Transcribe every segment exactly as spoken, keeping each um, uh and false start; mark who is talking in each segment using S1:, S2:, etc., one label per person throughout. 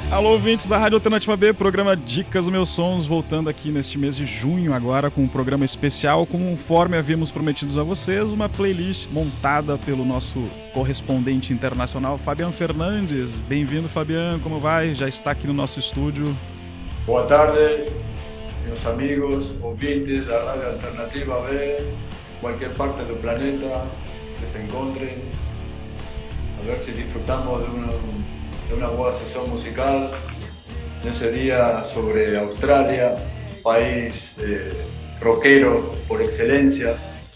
S1: Alô, ouvintes da Rádio Alternativa B, programa Dicas dos Meus Sons, voltando aqui neste mês de junho agora com um programa especial, conforme havíamos prometido a vocês, uma playlist montada pelo nosso correspondente internacional, Fabian Fernandes. Bem-vindo, Fabian, como vai? Já está aqui no nosso estúdio.
S2: Boa tarde, meus amigos, ouvintes da Rádio Alternativa B, qualquer parte do planeta que se encontrem, a ver se disfrutamos de uma... de una buena sesión musical en ese día sobre Australia, un país eh, rockero por excelencia,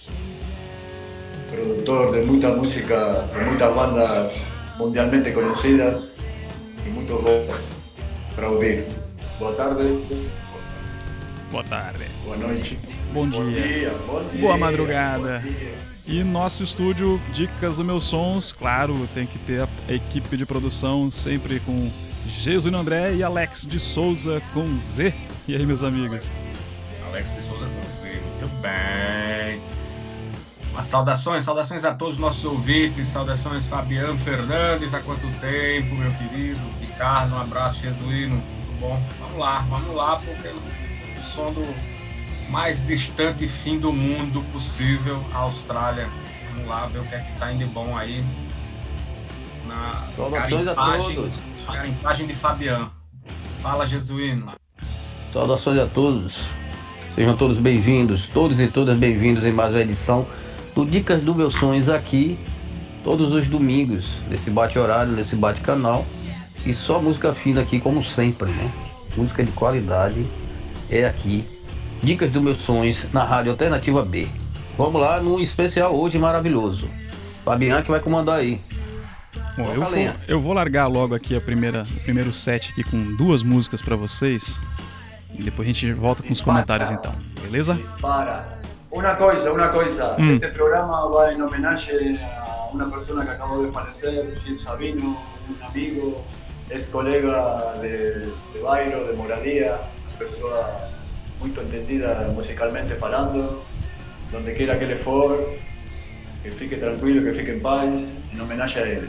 S2: productor de mucha música, de muchas bandas mundialmente conocidas y muchos rocks para oír. Boa tarde.
S1: Boa tarde.
S2: Boa noite.
S1: Bom dia.
S2: Bom dia. Bom dia.
S1: Boa madrugada. Bom dia. E nosso estúdio Dicas dos Meus Sons, claro, tem que ter a equipe de produção sempre com Jesuíno André e Alex de Souza com Z. E aí, meus amigos?
S3: Alex de Souza com Z, muito bem. Uma saudações, saudações a todos os nossos ouvintes, saudações Fabiano Fernandes, há quanto tempo, meu querido, Ricardo, um abraço, Jesuíno, tudo bom? Vamos lá, vamos lá, porque o som do mais distante fim do mundo possível, a Austrália. Vamos lá ver o que é que tá indo de bom aí na
S4: Saudações a todos.
S3: Garimpagem de Fabiano. Fala, Jesuíno.
S4: Saudações a todos. Sejam todos bem-vindos, todos e todas bem-vindos em mais uma edição do Dicas dos Meus Sonhos aqui, todos os domingos, nesse bate-horário, nesse bate-canal. E só música fina aqui, como sempre, né? Música de qualidade é aqui. Dicas dos Meus Sonhos na Rádio Alternativa B. Vamos lá num especial hoje maravilhoso. Fabiano que vai comandar aí.
S1: Bom, eu, vou, eu vou largar logo aqui a primeira, o primeiro set aqui com duas músicas para vocês. E depois a gente volta com os comentários então, beleza?
S2: Para. Uma coisa, uma coisa.
S1: Hum.
S2: Este programa vai em homenagem a uma pessoa que acabou de falecer, Gil Sabino, um amigo, ex-colega de, de bairro, de moradia, uma pessoa muito entendida musicalmente falando, donde quiera que ele for, que fique tranquilo, que fique em paz, em homenagem a ele.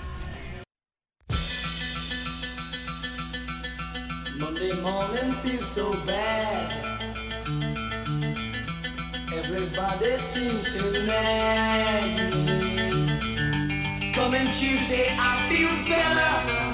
S5: Monday morning feels so bad. Everybody seems to nag me. Coming Tuesday I feel better.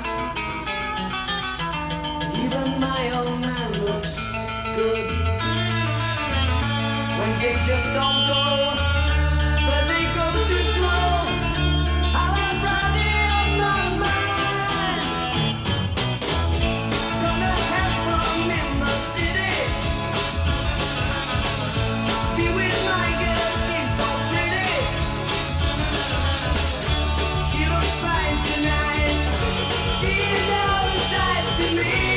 S5: Even my old man looks good. Wednesday just don't go. Thursday goes too slow. I'll have Friday on my mind. Gonna have fun in the city. Be with my girl, she's so pretty. She looks fine tonight. She's all inside to me.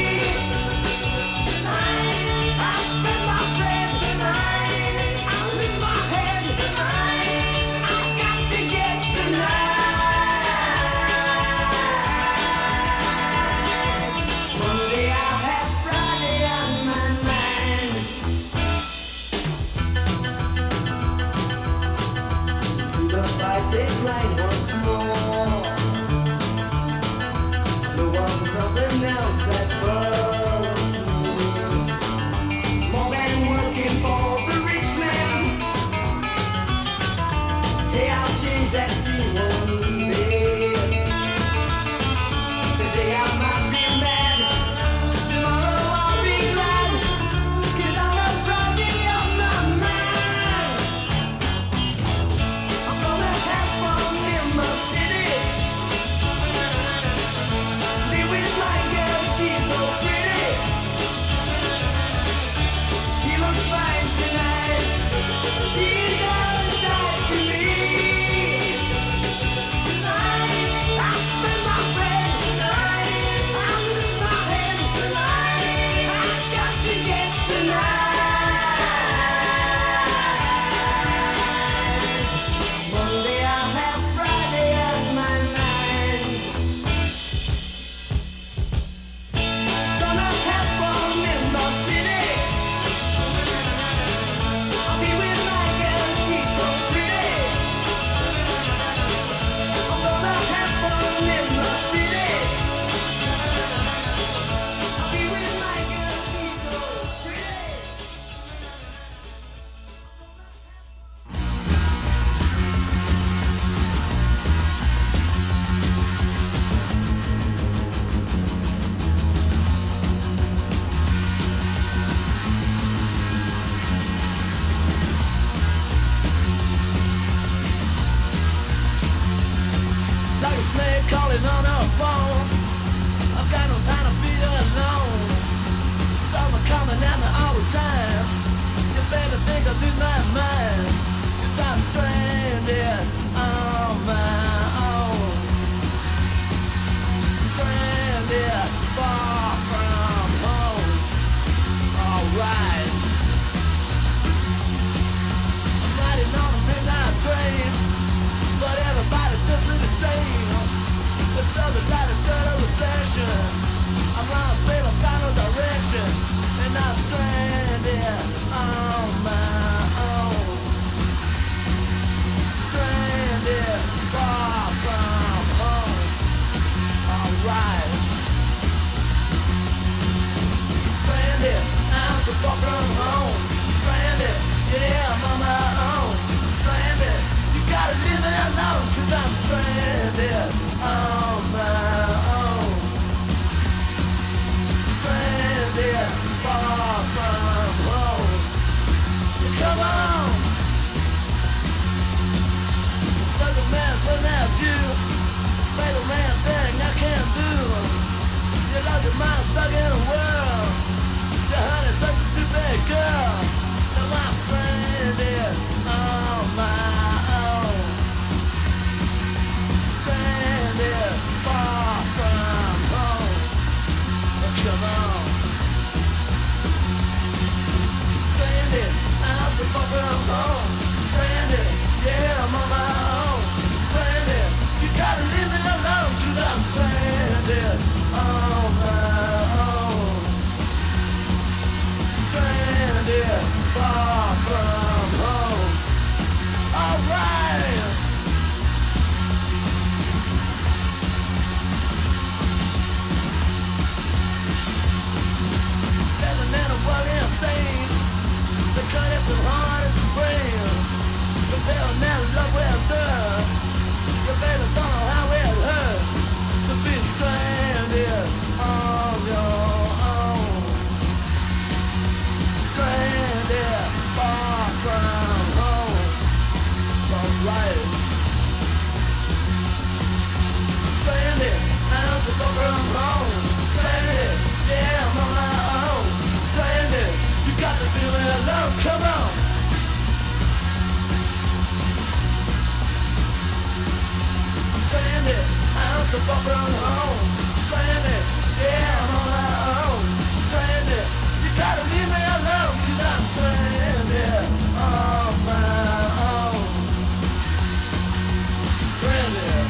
S5: Line once more. No one, nothing else that bothers me more than working for the rich man. Hey, I'll change that scene one day. Today I might be mad, tomorrow I'll be glad, 'cause I'll have Friday on my mind. I'm gonna have fun in the city. Be with my girl, she's so pretty. far from home. Stranded, yeah, I'm on my own. Stranded, you gotta leave me alone, cause I'm stranded on my own. Stranded, far from home. Come on. Like a man looking at you. Like a man saying I can't do. You lost your mind stuck in a world. Your honey's such a stupid girl. Now I'm stranded on my own. Stranded far from home. Oh, come on. Stranded, I'm so far from home. Stranded, yeah, I'm on my own. Stranded, you gotta leave me alone, cause I'm stranded on my own. Stranded, far from home. Alright. Living in a world insane. The cut is as hard as the brain. The bill never love will do. The baby don't know how it hurts to be stranded on your own. Stranded far from home. Alright. Stranded, I'm so far from home. Stranded, yeah, I'm on my own. Stranded, you got to be me alone, come on. Stranded, I'm so far from home. Stranded, yeah, I'm on my own. Stranded, you gotta leave me alone, cause I'm stranded on my own. Stranded.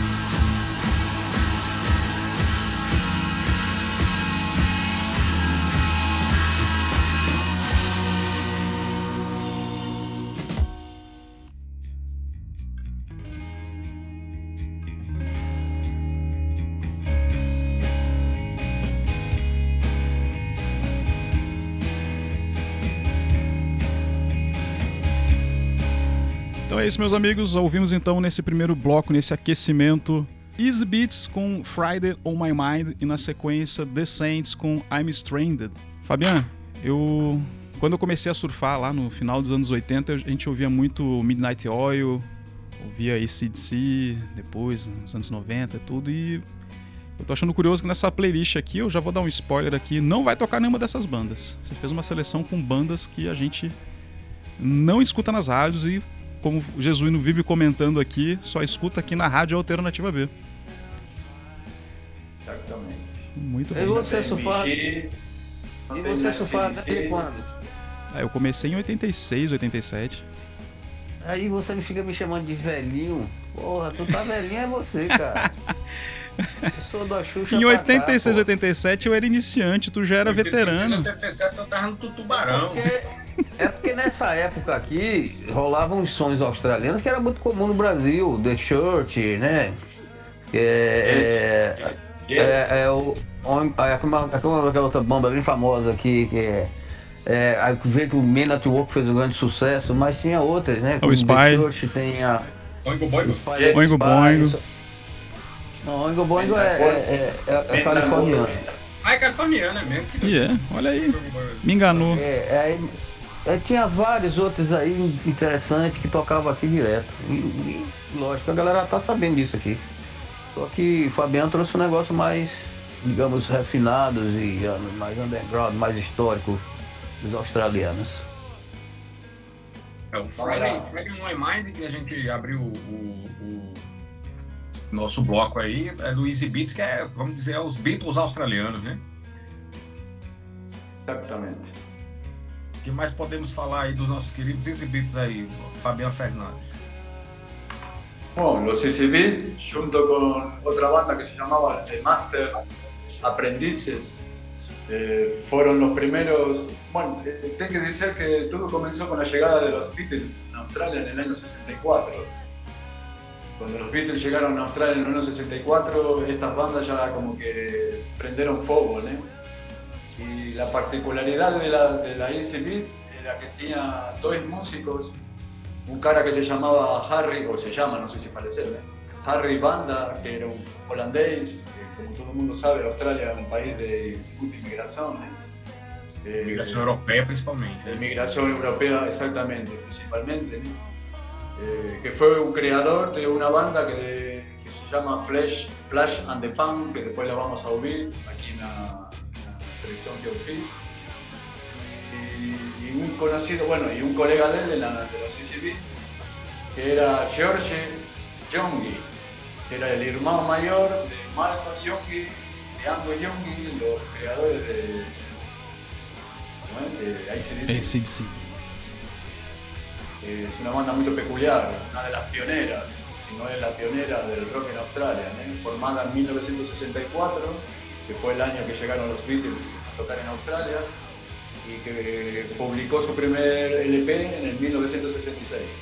S1: Então é isso, meus amigos. Ouvimos então nesse primeiro bloco, nesse aquecimento, Easy Beats com Friday on My Mind e na sequência The Saints com I'm Stranded. Fabian, eu quando eu comecei a surfar lá no final dos anos oitenta, a gente ouvia muito Midnight Oil, ouvia A C D C, depois nos anos noventa e tudo, e eu tô achando curioso que nessa playlist aqui, eu já vou dar um spoiler aqui, não vai tocar nenhuma dessas bandas. Você fez uma seleção com bandas que a gente não escuta nas rádios e, como o Jesuíno vive comentando aqui, só escuta aqui na Rádio Alternativa B.
S2: Exatamente.
S1: Muito
S4: E
S1: bem.
S4: você,
S2: Tem
S4: surfar?
S2: Michi, não
S4: E
S2: tem
S4: você
S2: Nancy
S4: surfar
S2: D C.
S4: desde quando?
S1: Ah, eu comecei em oitenta e seis, oitenta e sete.
S4: Aí você me fica me chamando de velhinho. Porra, tu tá velhinho é você, cara. Eu sou da Xuxa.
S1: Em
S4: pra
S1: oitenta e seis,
S4: cá,
S1: oitenta e sete eu era iniciante, tu já era veterano.
S3: Em oitenta e sete eu tava no Tutubarão.
S4: Porque- É porque nessa época aqui rolavam uns sons australianos que era muito comum no Brasil, The Church, né? É, é, é, é o. É aquela, aquela outra banda bem famosa aqui, que é. É, aí veio que o Men at Work fez um grande sucesso, mas tinha outras, né?
S1: O
S4: Como
S1: Spy.
S4: The Church, tem a.
S3: Oingo Boingo.
S4: Spy, Spy,
S1: Oingo Boingo.
S4: isso- Não, Oingo Boingo é, é, é, é, é californiano.
S3: Ah, é californiano, é mesmo. Que
S1: E é, olha aí, me enganou.
S4: É, aí, é, tinha vários outros aí interessantes que tocavam aqui direto. E, e, lógico, a galera tá sabendo disso aqui. Só que o Fabiano trouxe um negócio mais, digamos, refinados e uh, mais underground, mais histórico dos australianos.
S3: É o Friday, Friday on My Mind, que a gente abriu o, o, o nosso bloco aí, é do Easy Beats, que é, vamos dizer, os Beatles australianos, né?
S2: Exactamente.
S3: O que mais podemos falar aí dos nossos queridos Easy Beats aí, Fabiano Fernandes?
S2: Bueno, los Easy Beats, junto con otra banda que se llamaba The Master Aprendices, eh, fueron los primeros. Bueno, eh, tengo que decir que todo comenzó con la llegada de los Beatles a Australia en el año sesenta y cuatro. Cuando los Beatles llegaron a Australia en el año sesenta y cuatro, estas bandas ya como que prendieron fuego, ¿no? Y la particularidad de la, de la Easy Beat era que tenía dos músicos, un cara que se llamaba Harry, o se llama, no sé si parecerme, ¿eh? Harry Banda, que era un holandés, que como todo el mundo sabe, Australia es un país de mucha inmigración. ¿eh? Eh,
S3: Migração europeia, principalmente.
S2: De migración europea, exactamente, principalmente. ¿no? Eh, que fue un creador de una banda que, que se llama Flash, Flash and the Pan, que después la vamos a oír aquí en la, en la selección que oí. Y, y un conocido, bueno, y un colega de él de, la, de los Easy Beats, que era George Youngie, que era el hermano mayor de Malcolm Youngie, de Angus Youngie, los creadores de, ¿no es? de A C D C.
S1: A C D C.
S2: Es una banda muy peculiar, una de las pioneras, si no es la pionera del rock en Australia, ¿eh? Formada en mil novecientos sesenta y cuatro, que fue el año que llegaron los Beatles a tocar en Australia, y que publicó su primer L P en el mil novecientos sesenta y seis.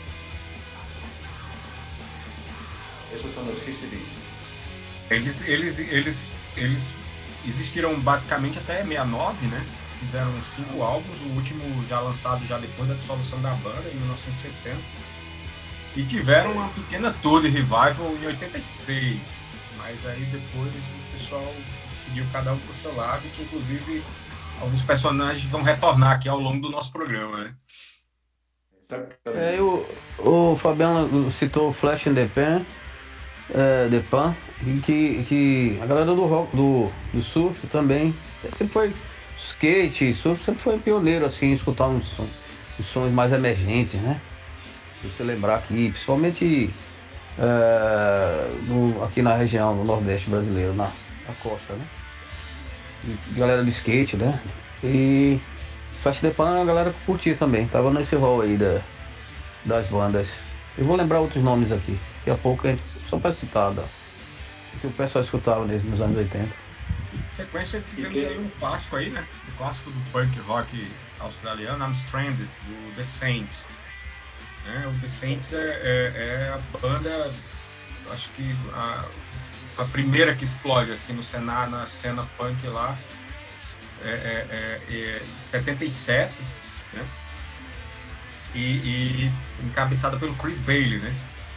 S2: Esos son los Easy Beats.
S3: Eles, eles, eles, eles existiram basicamente até sessenta e nove, né? Fizeram cinco álbuns, o último já lançado já depois da dissolução da banda, em mil novecentos e setenta. E tiveram uma pequena tour de revival em oitenta e seis. Mas aí depois o pessoal seguiu cada um pro seu lado, que inclusive alguns personagens vão retornar aqui ao longo do nosso programa, né?
S4: É, o, o Fabiano citou o Flash and the Pan, é, The Pan, e que, que a galera do rock, do, do surf também sempre foi skate, surf sempre foi pioneiro assim, em escutar uns, uns sons mais emergentes, né? Se você lembrar aqui, principalmente é, no, aqui na região do Nordeste brasileiro, na, na costa, né? E galera do skate, né? E Flash the Pan a galera que curtia também, tava nesse rol aí da, das bandas. Eu vou lembrar outros nomes aqui, daqui a pouco, a gente, só para citar, da, que o pessoal escutava desde os anos oitenta.
S3: Sequência, tivemos aí um clássico aí, né? Um clássico do punk rock australiano, I'm Stranded, do The Saints. É, o The Saints é, é, é a banda, acho que a, a primeira que explode assim, no cenário, na cena punk lá, é, é, é, é setenta e sete, né? E, e encabeçada pelo Chris Bailey, né?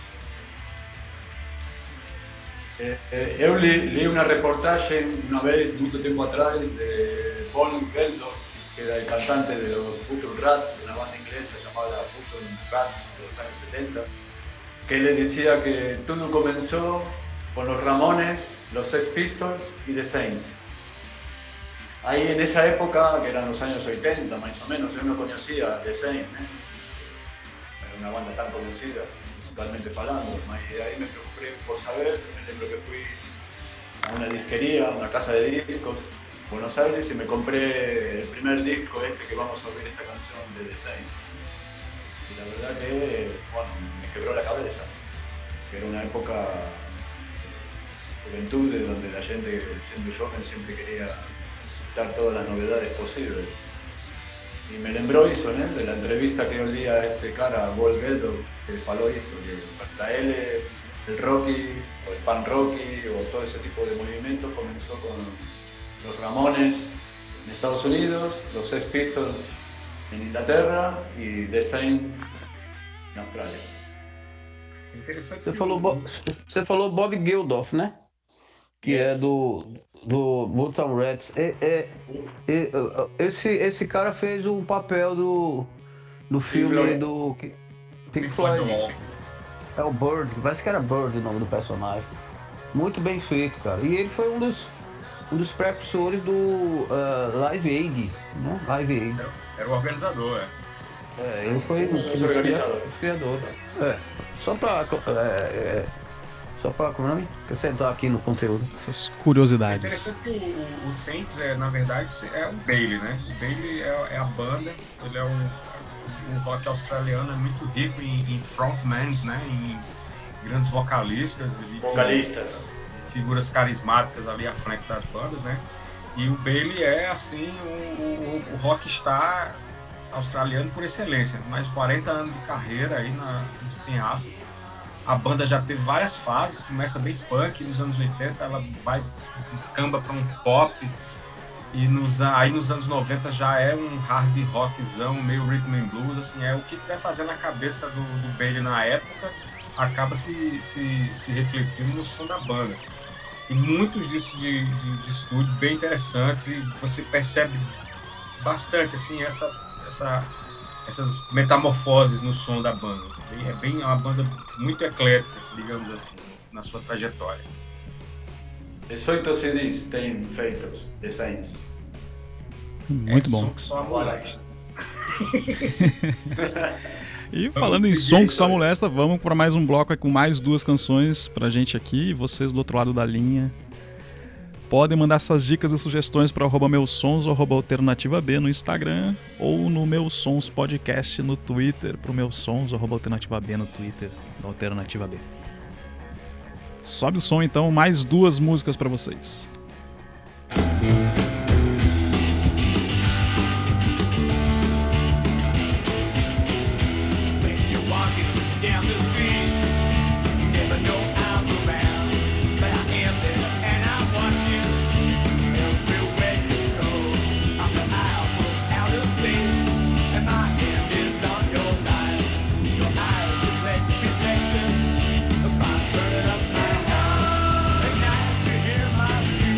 S2: Eh, eu li, li una reportaje una vez, mucho tiempo atrás, de Paul Geldof, que era el cantante de los Button Rats, de una banda inglesa llamada Button Rats de los años setenta, que le decía que todo comenzó con los Ramones, los Sex Pistols y The Saints. Ahí en esa época, que eran los años ochenta más o menos, yo no conocía The Saints, ¿eh? Era una banda tan conocida, musicalmente hablando, y ahí me preocupé por saber. Me lembro que fui a una disquería, a una casa de discos, Buenos Aires, y me compré el primer disco este que vamos a oír, esta canción de The Saints. Y la verdad que, bueno, me quebró la cabeza, que era una época de juventud donde la gente, siendo joven, siempre quería dar todas las novedades posibles. Y me lembró eso, ¿no? De la entrevista que yo leí a este cara, a Paul Geldof, que faló eso, que para él el Rocky, o el Pan Rocky, o todo ese tipo de movimientos comenzó con los Ramones en Estados Unidos, los Sex Pistols en Inglaterra y The Saints en Australia.
S4: Você falou, Bo- você falou Bob Geldof, né? Que
S2: Yes.
S4: é do, do Button Rats. É, é, é, esse, esse cara fez o papel do, do filme
S2: Floyd.
S4: do que- Pink
S3: Pink Floyd
S4: Floyd.
S3: The Wall.
S4: É o Bird, parece que era Bird o nome do personagem. Muito bem feito, cara. E ele foi um dos, um dos precursores do uh, Live Aid, né? Live Aid.
S3: Era, era o organizador, é.
S4: É, ele foi um
S2: Esse organizador.
S4: dos criadores. É, só pra, é, é, só pra, como é o nome? Acrescentar aqui no conteúdo.
S1: Essas
S3: É
S1: curiosidades.
S3: interessante que o, o Saints, é, na verdade, é o Bailey, né? O Bailey é, é a banda, ele é um, um rock australiano, é muito rico em, em frontmans, né? Em grandes vocalistas, ele tem
S2: Vocalistas.
S3: figuras carismáticas ali à frente das bandas, né? E o Bailey é, assim, o, o, o rockstar australiano por excelência. Mais de quarenta anos de carreira aí na, nesse penhasco. A banda já teve várias fases, começa bem punk nos anos oitenta, ela vai, descamba para um pop, E nos, aí nos anos noventa já é um hard rockzão, meio rhythm and blues, assim, é o que estiver fazendo a cabeça do, do Bailey na época, acaba se, se, se refletindo no som da banda. E muitos discos de, de, de estúdio bem interessantes, e você percebe bastante assim, essa, essa, essas metamorfoses no som da banda. É bem é uma banda muito eclética, digamos assim, na sua trajetória.
S2: dezoito C Ds têm feitos, desenhos.
S1: Muito
S3: é
S1: bom.
S3: Som que só amolesta.
S1: E
S3: Vamos
S1: falando em
S3: seguir
S1: som que
S3: isso
S1: só
S3: aí.
S1: molesta, vamos para mais um bloco aí com mais duas canções pra gente aqui. E vocês do outro lado da linha podem mandar suas dicas e sugestões para arroba meus sons ou arroba alternativa B no Instagram ou no Meus Sons Podcast no Twitter, pro Meus Sons ou arroba alternativa B no Twitter da Alternativa B. Sobe o som então, mais duas músicas pra vocês.
S5: You're walking down the street, you never know I'm around, but I am there and I watch you everywhere you go. I'm the eye of outer space, and my hand is on your life. Your eyes reflect reflection of my burning up my heart. At night you hear my scream.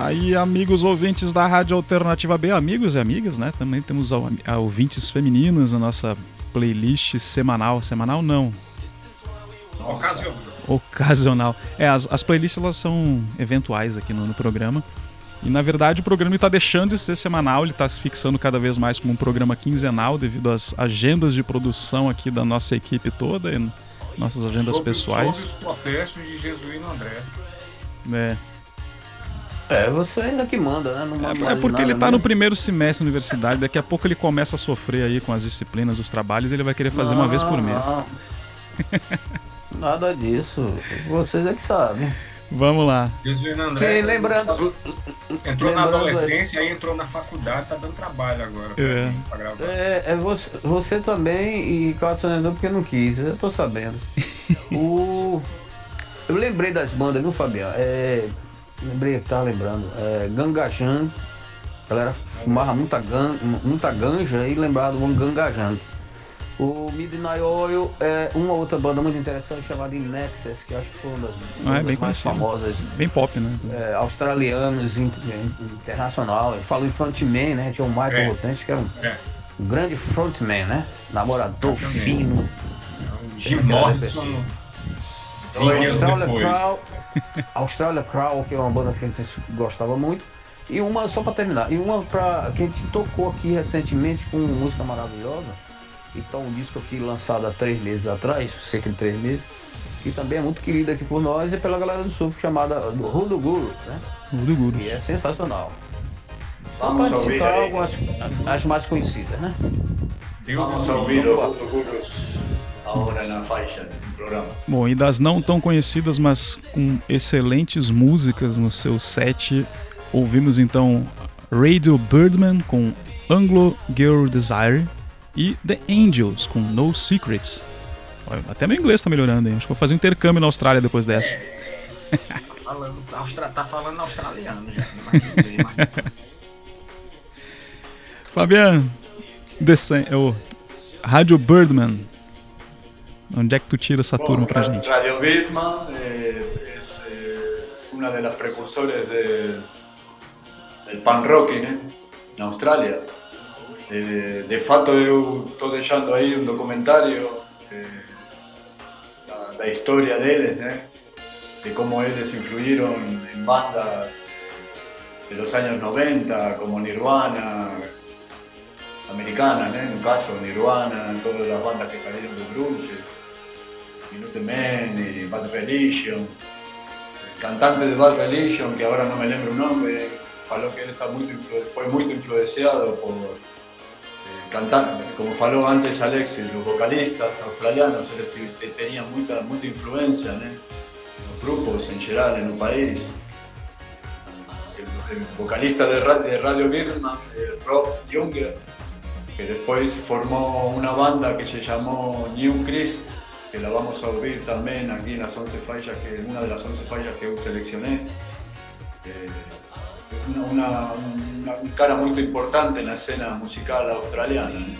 S1: Aí, amigos ouvintes da Rádio Alternativa B, amigos e amigas, né? Também temos a, a ouvintes femininas na nossa playlist semanal. Semanal não.
S3: Ocasional.
S1: Ocasional. É, as, as playlists elas são eventuais aqui no, no programa. E na verdade o programa está deixando de ser semanal, ele está se fixando cada vez mais como um programa quinzenal devido às agendas de produção aqui da nossa equipe toda e nossas agendas
S3: sobre,
S1: pessoais.
S3: Sobre os protestos de Jesuíno André.
S1: É.
S4: É, você ainda que manda, né? Não manda
S1: É, é
S4: mais
S1: porque
S4: nada,
S1: ele tá
S4: né?
S1: no primeiro semestre da universidade, daqui a pouco ele começa a sofrer aí com as disciplinas, os trabalhos, e ele vai querer fazer uma vez por mês.
S4: Não. Nada disso. Vocês é que sabem.
S1: Vamos lá.
S3: Jesuíno André.
S4: Sim, lembrando.
S3: Entrou na
S4: lembrando-
S3: adolescência, aí entrou na faculdade, tá dando trabalho agora pra,
S1: É.
S3: mim, pra gravar.
S4: É, é você, você também e Cássio Sonhador porque não quis, eu tô sabendo. o, eu lembrei das bandas, viu, Fabiano? É, lembrei que tava lembrando. É, Gangajando. A galera fumava muita, gan, muita ganja e lembrava do Gangajando. O Midnight Oil é uma outra banda muito interessante chamada Nexus, que acho que foi uma das
S1: Ah, é
S4: bandas
S1: bem
S4: mais
S1: conhecido.
S4: famosas.
S1: Bem pop, né?
S4: É, australianos, inter- internacional. Ele falou em frontman, né? Tinha o Michael
S3: É.
S4: Rotense, que era um,
S3: É.
S4: um grande frontman, né? Namorador
S3: Exatamente.
S4: fino.
S3: Jim
S4: É,
S3: Morrison, vinte anos
S4: Australia
S3: depois.
S4: Crow, Australia Crow, que é uma banda que a gente gostava muito. E uma, só pra terminar, e uma pra, que a gente tocou aqui recentemente com uma música maravilhosa. Então um disco aqui lançado há três meses atrás, cerca de três meses, que também é muito querido aqui por nós e pela galera do surf, chamada do Hoodoo Guru, né?
S1: Tudo Gurus.
S4: E é sensacional.
S2: Vamos a
S4: Vou
S2: ouvir
S4: citar
S2: aí.
S4: algumas, as mais conhecidas, né?
S3: Deus
S2: Vamos a ouvir os futuros ahora na faixa do programa.
S1: Bom, e das não tão conhecidas, mas com excelentes músicas no seu set, ouvimos então Radio Birdman com Anglo Girl Desire e The Angels com No Secrets. Olha, até meu inglês tá melhorando, hein? Acho que vou fazer um intercâmbio na Austrália depois dessa.
S3: Tá falando, austra, tá falando australiano já. Mas tudo bem, mas...
S1: Fabiano, desen- o Radio Birdman. Onde é que tu tira essa turma pra
S2: Ra-
S1: gente?
S2: Radio Birdman eh, es eh, una de las precursores de- del punk rock, né? Na Austrália. Eh, de fato, eu estou deixando aí um documentário eh, da, da história deles, né? De como eles influíram em bandas de los años noventa, como Nirvana, americanas, né? No caso, Nirvana, todas as bandas que saíram do grunge, Minutemen y Bad Religion. El cantante de Bad Religion, que ahora no me lembro el nombre, faló que él está muy influ- fue muy influenciado por eh, cantar, como faló antes Alexis, los vocalistas australianos, eles te- tenían mucha, mucha influencia, ¿no? Los grupos en general en un país. El, el vocalista de, ra- de Radio Birdman, eh, Rob Younger, que después formó una banda que se llamó New Christ, que la vamos a oír también aquí en las once fallas, que una de las once fallas que yo seleccioné. Eh, una, una, una, un cara muy importante en la escena musical australiana. ¿Eh?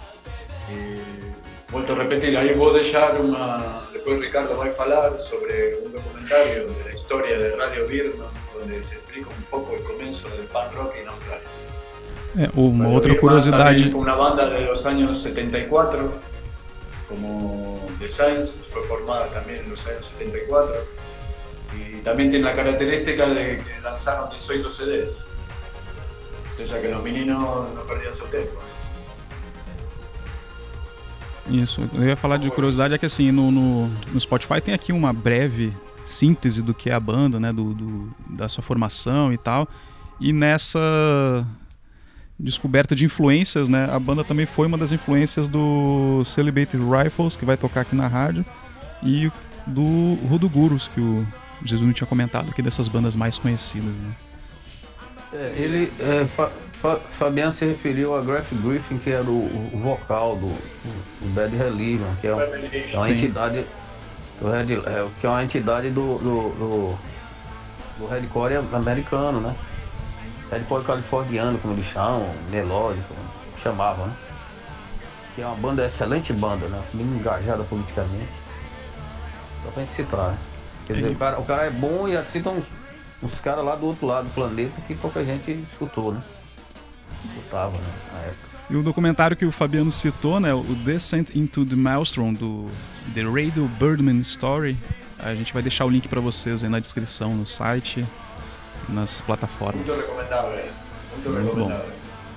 S2: Y, vuelto a repetir, ahí vos dejar una, después Ricardo va a hablar sobre un documentario de la historia de Radio Birdman, donde se explica un poco el comienzo del punk rock en Australia.
S1: É, uma
S2: Radio
S1: outra
S2: Birdman
S1: curiosidade.
S2: también fue una banda de los años setenta y cuatro, como The Saints, fue formada también en los años setenta y cuatro. Y también tiene la característica de que lanzaron dieciocho C Ds. O sea que los meninos no perdían su tiempo.
S1: Isso, eu ia falar de curiosidade, é que assim, no, no, no Spotify tem aqui uma breve síntese do que é a banda, né, do, do, da sua formação e tal, e nessa descoberta de influências, né, a banda também foi uma das influências do Celebrated Rifles, que vai tocar aqui na rádio, e do Hoodoo Gurus, que o Jesus tinha comentado aqui, dessas bandas mais conhecidas, né.
S4: É, ele, é, Fa- Fa- Fabiano se referiu a Graf Griffin, que era o, o vocal do, do Bad Religion, que é, um- é uma
S1: Sim.
S4: entidade do Red, é, que é uma entidade do, do, do, do Redcore americano, né? Redcore californiano, como eles chamam, melódico, chamavam, né? Que é uma banda, excelente banda, né? Bem engajada politicamente. Só pra gente citar, né? Quer dizer,
S1: Ele-
S4: o cara, o cara é bom e assim, então uns caras lá do outro lado do planeta que pouca gente escutou, né? Escutava, né, na época.
S1: E o documentário que o Fabiano citou, né, o Descent into the Maelstrom, do The Radio Birdman Story, a gente vai deixar o link para vocês aí na descrição, no site, nas plataformas.
S2: Muito recomendável. Muito,
S1: Muito
S2: recomendável.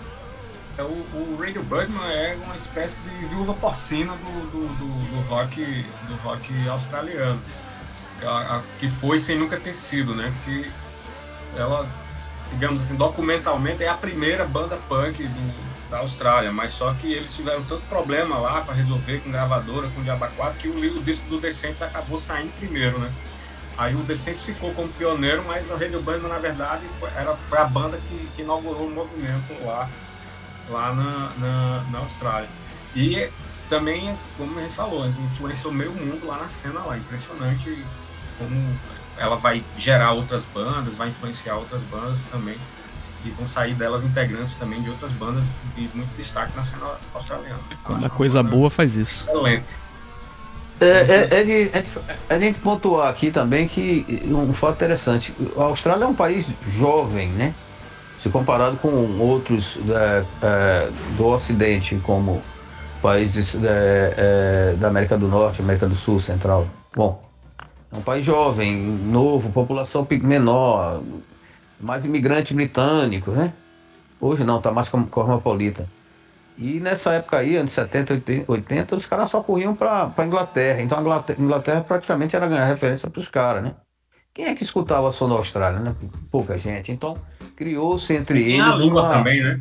S3: É, O, o Radio Birdman é uma espécie de viúva porcina do, do, do, do rock, do rock australiano, a, a, que foi sem nunca ter sido, né? Porque ela, digamos assim, documentalmente é a primeira banda punk do, da Austrália, mas só que eles tiveram tanto problema lá para resolver com gravadora, com Diaba quatro, que o, o disco do Descendants acabou saindo primeiro, né? Aí o Descendants ficou como pioneiro, mas o Radio Birdman, na verdade, foi, era, foi a banda que, que inaugurou o movimento lá, lá na, na, na Austrália. E também, como a gente falou, influenciou meio mundo lá na cena lá. Impressionante como ela vai gerar outras bandas, vai influenciar outras bandas também. E vão sair delas integrantes também de outras bandas de muito destaque na cena australiana.
S1: Quando a coisa boa faz isso.
S3: Excelente.
S4: É, é, é, de, é, de, é de a gente pontuar aqui também que um fato interessante, a Austrália é um país jovem, né? Se comparado com outros é, é, do Ocidente, como países é, é, da América do Norte, América do Sul, Central. Bom, é um país jovem, novo, população menor, mais imigrantes britânicos, né? Hoje não, tá mais cosmopolita. E nessa época aí, anos setenta, oitenta, os caras só corriam para a Inglaterra. Então a Inglaterra, Inglaterra praticamente era ganhar referência para os caras, né? Quem é que escutava som da Austrália, né? Pouca gente. Então criou-se entre
S3: Tem
S4: eles
S3: a língua
S4: uma...
S3: também, né?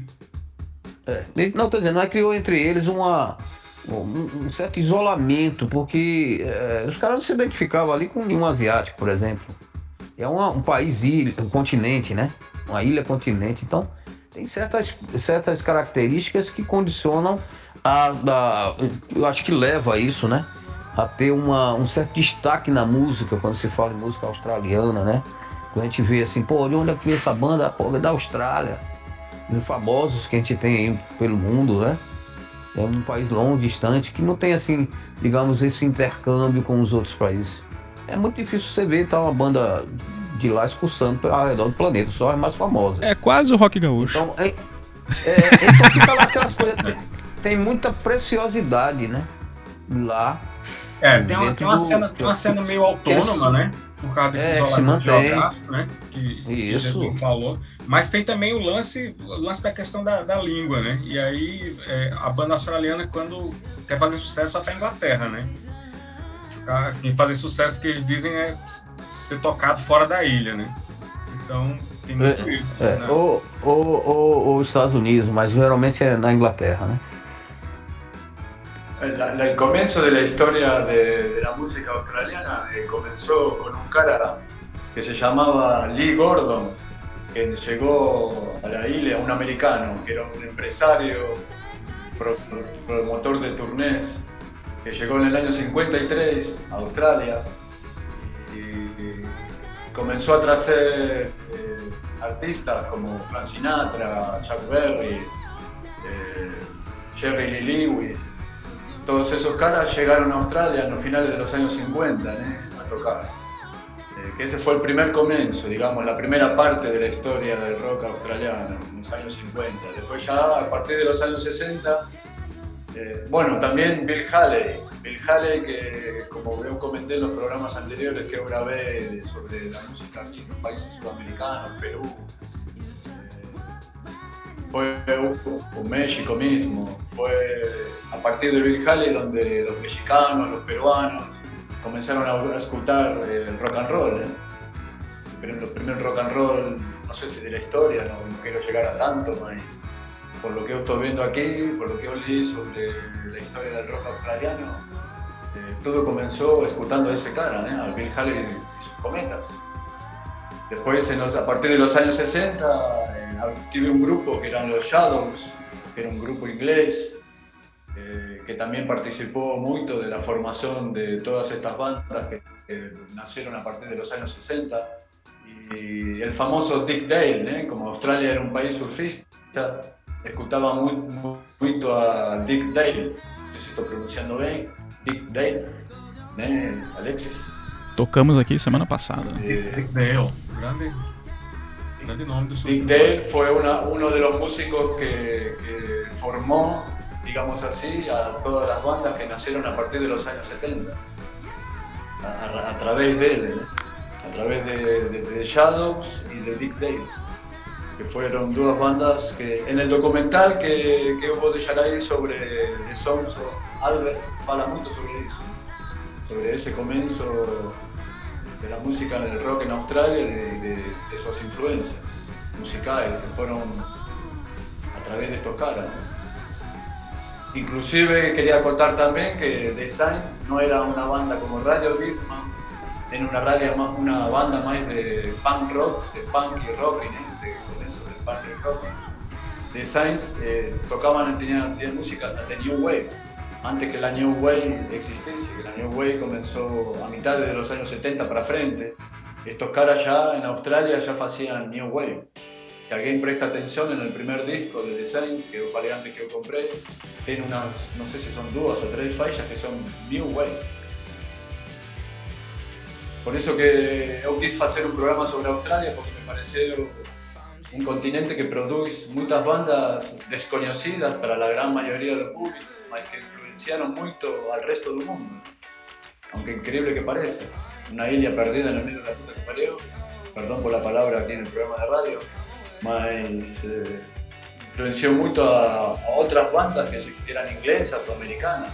S4: É, não, estou dizendo, mas criou entre eles uma, um, um certo isolamento, porque é, os caras não se identificavam ali com nenhum asiático, por exemplo. É uma, um país, ilha, um continente, né? Uma ilha-continente. Então tem certas, certas características que condicionam a, a... Eu acho que leva a isso, né? A ter uma, um certo destaque na música, quando se fala em música australiana, né? Quando a gente vê assim, pô, de onde é que veio essa banda? Pô, é da Austrália. Os famosos que a gente tem aí pelo mundo, né? É um país longo, distante, que não tem, assim, digamos, esse intercâmbio com os outros países. É muito difícil você ver tá, uma banda de lá excursando ao redor do planeta, só é mais famosa.
S1: É quase o rock gaúcho.
S4: Então, é, é, então fica lá aquelas coisas. Tem, tem muita preciosidade, né? Lá.
S3: É, tem uma,
S4: dentro
S3: tem uma,
S4: do-
S3: cena, tem uma cena meio autônoma, né? Por causa desse
S4: É, que se
S3: isolamento
S4: mantém.
S3: geográfico, né? Que, que
S4: Isso.
S3: Jesus falou. Mas tem também o lance, o lance da questão da, da língua, né? E aí é, a banda australiana, quando quer fazer sucesso, só tá na Inglaterra, né? Ficar, assim, fazer sucesso que eles dizem é ser tocado fora da ilha, né? Então tem muito isso.
S4: É,
S3: assim, né?
S4: ou, ou, ou, ou Estados Unidos, mas geralmente é na Inglaterra, né?
S2: La- la- el comienzo de la historia de, de la música australiana eh, comenzó con un cara que se llamaba Lee Gordon, que llegó a la isla, un americano, que era un empresario, pro- pro- promotor de turnés, que llegó en el año cincuenta y tres a Australia y, y comenzó a traer eh, artistas como Frank Sinatra, Chuck Berry, eh, Jerry Lee Lewis. Todos esos caras llegaron a Australia en los finales de los años cincuenta, ¿eh? A tocar. Eh, que ese fue el primer comienzo, digamos, la primera parte de la historia del rock australiano, en los años cincuenta. Después ya a partir de los años sesenta, eh, bueno, también Bill Haley. Bill Haley, que como yo comenté en los programas anteriores que yo grabé de- sobre la música aquí en los países sudamericanos, Perú, fue o México mismo, fue a partir de Bill Haley donde los mexicanos, los peruanos comenzaron a escuchar el rock and roll. ¿eh? El primer- primer rock and roll, no sé si de la historia, no, no quiero llegar a tanto, mas por lo que yo estoy viendo aquí, por lo que yo leí sobre la historia del rock australiano, eh, todo comenzó escuchando a ese cara, ¿eh? A Bill Haley y sus cometas. Después, en los- a partir de los años sesenta, eh, tuve un grupo que eran los Shadows, que era un grupo inglés, eh, que también participó mucho de la formación de todas estas bandas que, que nacieron a partir de los años sesenta. Y el famoso Dick Dale, ¿eh? Como Australia era un país surfista, escuchaba muy, muy, mucho a Dick Dale, no sé si estoy pronunciando bien, Dick Dale, ¿eh? Alexis.
S1: Tocamos aqui semana passada.
S2: Eh,
S3: Dick Dale, grande. grande nome do
S2: Dick Dale fue una, uno de los músicos que, que formó, digamos así, a todas las bandas que nacieron a partir de los años setenta. A, a, a través de él, ¿eh? A través de, de, de Shadows y de Dick Dale, que fueron dos bandas que en el documental que, que hubo de Yarai sobre The Sons of Albert habla mucho sobre eso, sobre ese comienzo de la música del rock en Australia y de, de, de sus influencias musicales que fueron a través de estos caras, ¿no? Inclusive quería contar también que The Saints no era una banda como Radio Birman, en una radio más, una banda más de punk rock, de punk y rock, ¿no? De comienzo del punk y rock. The Saints eh, tocaban, tenían, tenían músicas de New Wave, antes que la New Wave existiese, que la New Wave comenzó a mitad de los años setenta para frente. Estos caras ya en Australia ya hacían New Wave. Si alguien presta atención en el primer disco de The Saints, que falei antes que yo compré, tiene unas, no sé si son dos o tres fallas que son New Wave. Por eso que yo quise hacer un programa sobre Australia, porque me pareció un continente que produce muchas bandas desconocidas para la gran mayoría del público, mas que influenciaron mucho al resto del mundo. Aunque increíble que parece, una isla perdida en el medio de la puta que parió, perdón por la palabra aquí en el programa de radio, mas eh, influenció mucho a, a otras bandas que, que eran inglesas o americanas.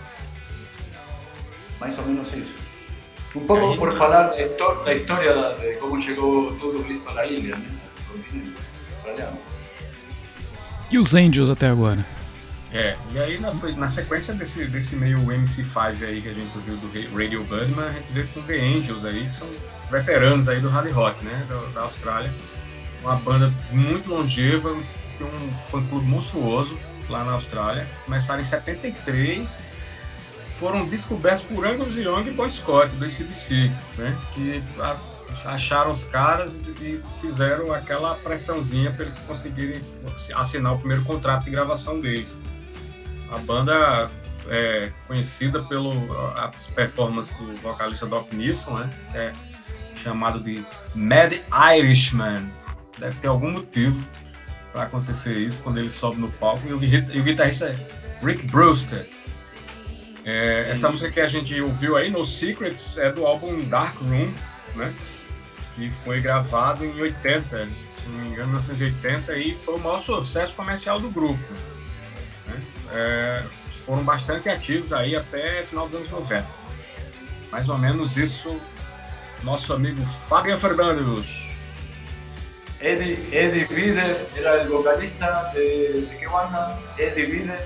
S2: Más o menos eso. Un poco
S3: Aí,
S2: por falar da histo- da historia de como chegou tudo isso a la ilha, né? O continente australiano.
S1: E os Angels até agora?
S3: É, e aí na, na sequência desse, desse meio M C cinco aí que a gente viu do Radio Birdman, a gente veio com The Angels aí, que são veteranos aí do hard rock, né, da, da Austrália. Uma banda muito longeva, tem um fã-clube monstruoso lá na Austrália. Começaram em setenta e três, foram descobertos por Angus Young e Bon Scott, do A C D C, né, que a, acharam os caras e fizeram aquela pressãozinha para eles conseguirem assinar o primeiro contrato de gravação deles. A banda é conhecida pelo as performances do vocalista Doc Neeson, né, que é chamado de Mad Irishman. Deve ter algum motivo para acontecer isso quando ele sobe no palco. E o, e o guitarrista é Rick Brewster. É, essa música que a gente ouviu aí, No Secrets, é do álbum Dark Room, né? Que foi gravado em oitenta, se não me engano, mil novecentos e oitenta, e foi o maior sucesso comercial do grupo, né? É, foram bastante ativos aí até final dos anos noventa. Mais ou menos isso, nosso amigo Fabian Fernandes.
S2: Eddie, Eddie Vedder era el vocalista de, de qué banda? Eddie Vedder.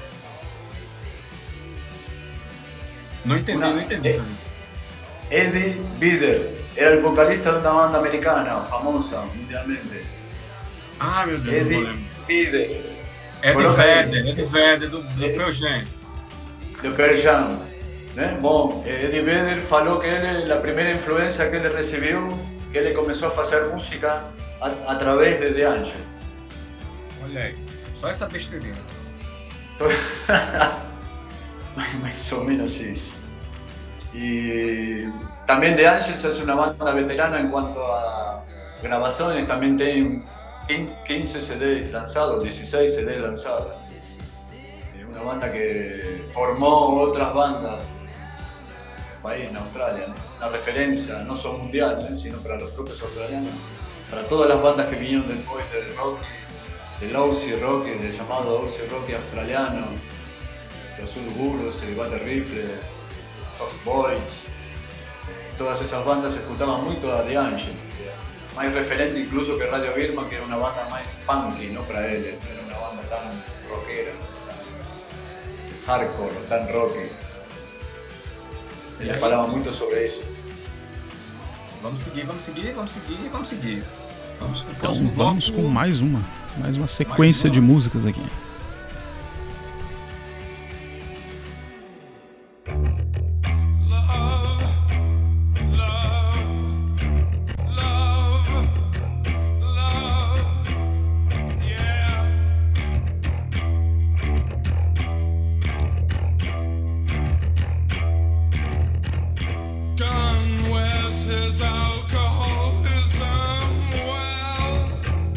S3: Não entendi,
S2: Una-
S3: não entendi.
S2: eh,
S3: Fernando.
S2: Eddie Vedder era el vocalista de una banda americana famosa mundialmente.
S3: Ah, meu Deus, não
S2: Eddie
S3: lembro.
S2: Vedder,
S3: Eddie
S2: Coloca aí.
S3: Vedder, Eddie Vedder, do, do
S2: Eddie-
S3: Pearl Jam.
S2: de Pearl Jam. ¿eh? Bom, Eddie Vedder falou que él, la primera influencia que él recibió, que él comenzó a hacer música a, a través de The Angel.
S3: Olha aí, só essa besteirinha.
S2: Más o menos eso. Y también The Angels es una banda veterana en cuanto a grabaciones, también tienen quince C Ds lanzados, dieciséis C Ds lanzados. Es una banda que formó otras bandas en el país, en Australia, ¿no? Una referencia no solo mundial, ¿eh? Sino para los propios australianos, para todas las bandas que vinieron después del rock, del Aussie Rock, del llamado Aussie Rock australiano, los Ulburus, el Battle Rifle, Soft Boys, todas esas bandas escuchaban mucho a The Angel, más referente incluso que Radio Birman, que era una banda más punky, no para él, no era una banda tan rockera, tan hardcore, tan rocky. Ele falava muito sobre isso.
S3: Vamos seguir, vamos seguir, vamos seguir, vamos seguir. Vamos pro
S1: Então
S3: próximo
S1: vamos
S3: bloco.
S1: com mais uma, mais uma sequência
S3: uma.
S1: de músicas aqui.
S6: Gun wears his alcoholism well.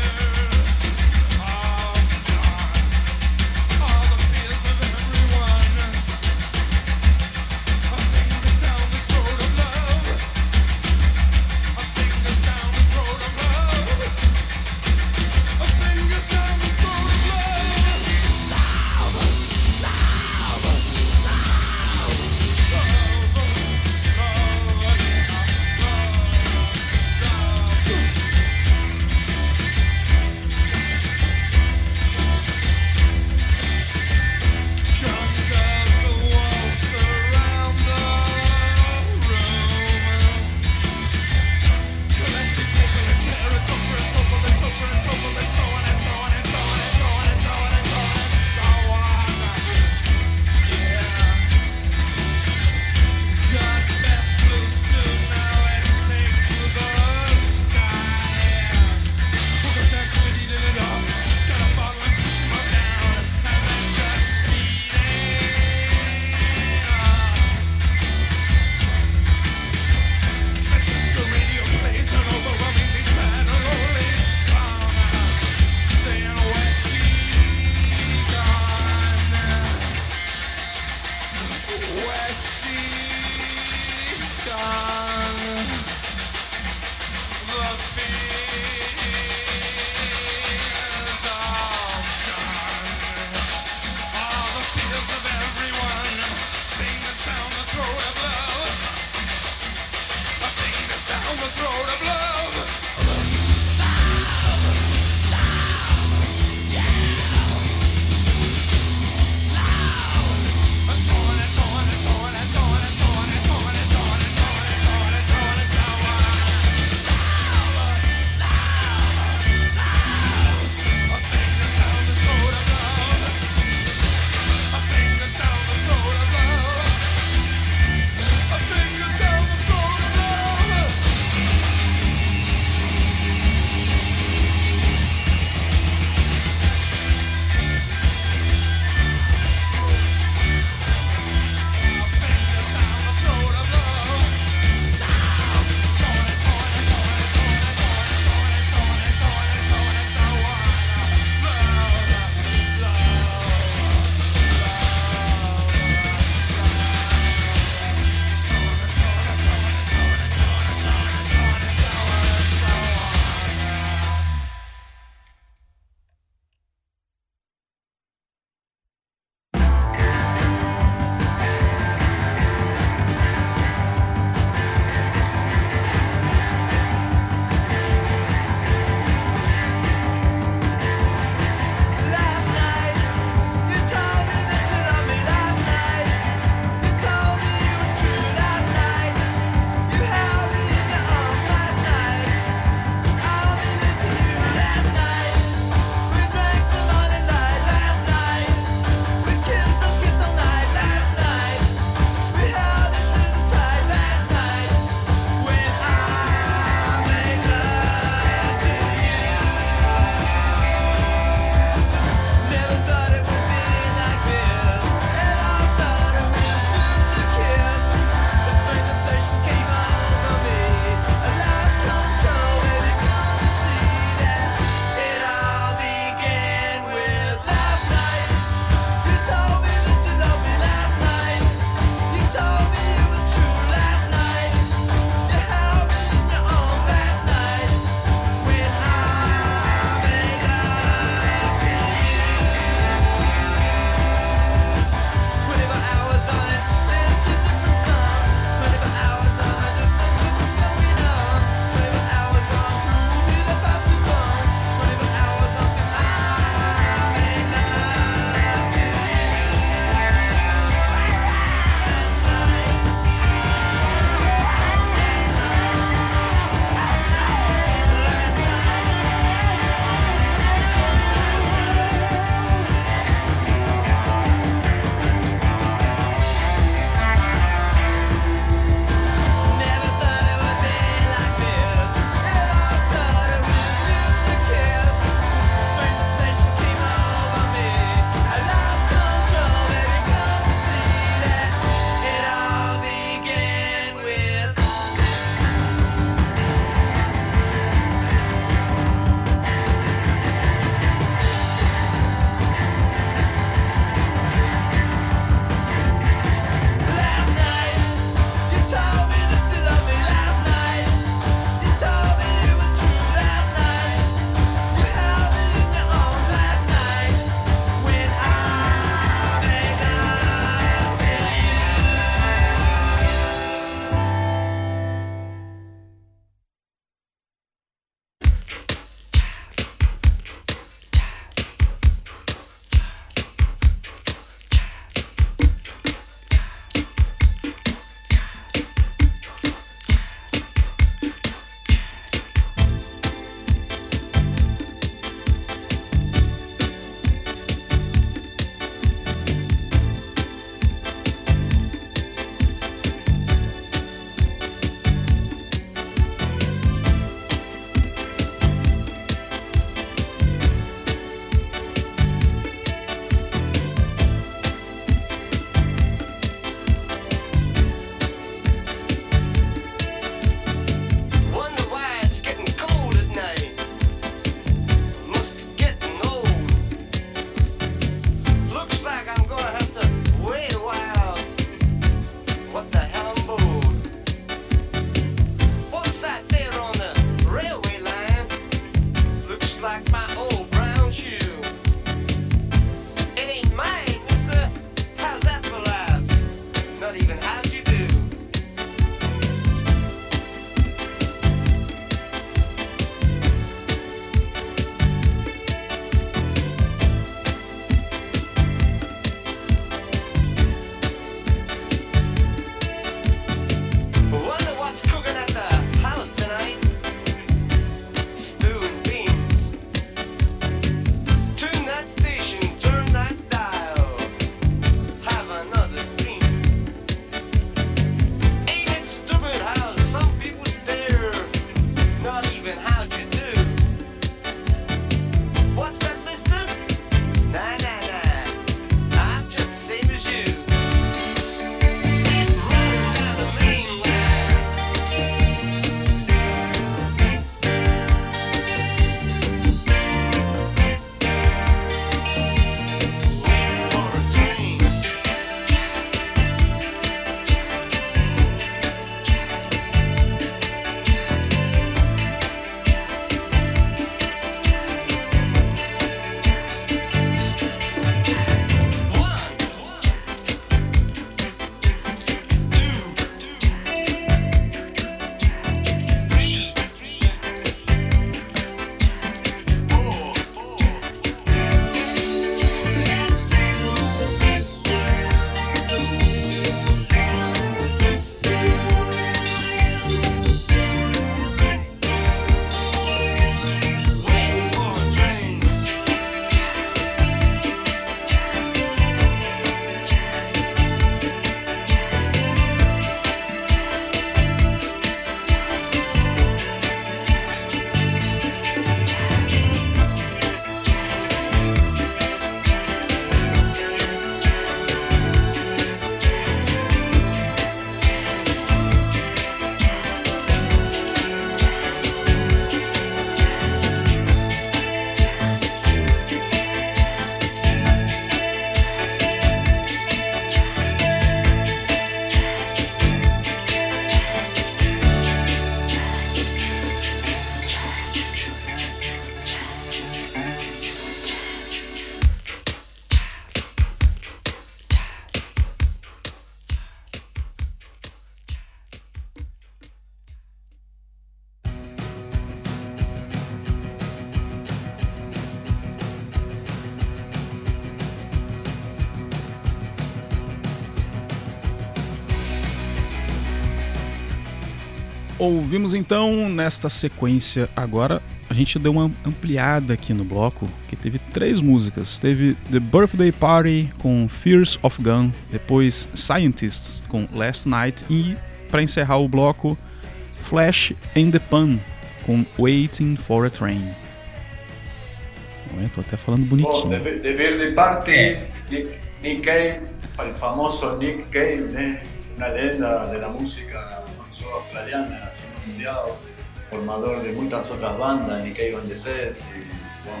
S1: Ouvimos então, nesta sequência agora, a gente deu uma ampliada aqui no bloco, que teve três músicas. Teve The Birthday Party com Fears of Gun, depois Scientists com Last Night e, para encerrar o bloco, Flash and the Pan com Waiting for a Train. Eu tô até falando bonitinho.
S2: Bom, The, The Birthday Party, Nick, Nick Cave, el famoso Nick Cave, né? Una leyenda de la música australiana, nacional mundial, formador de muchas otras bandas, Nick Cave and the Sets, y, bueno,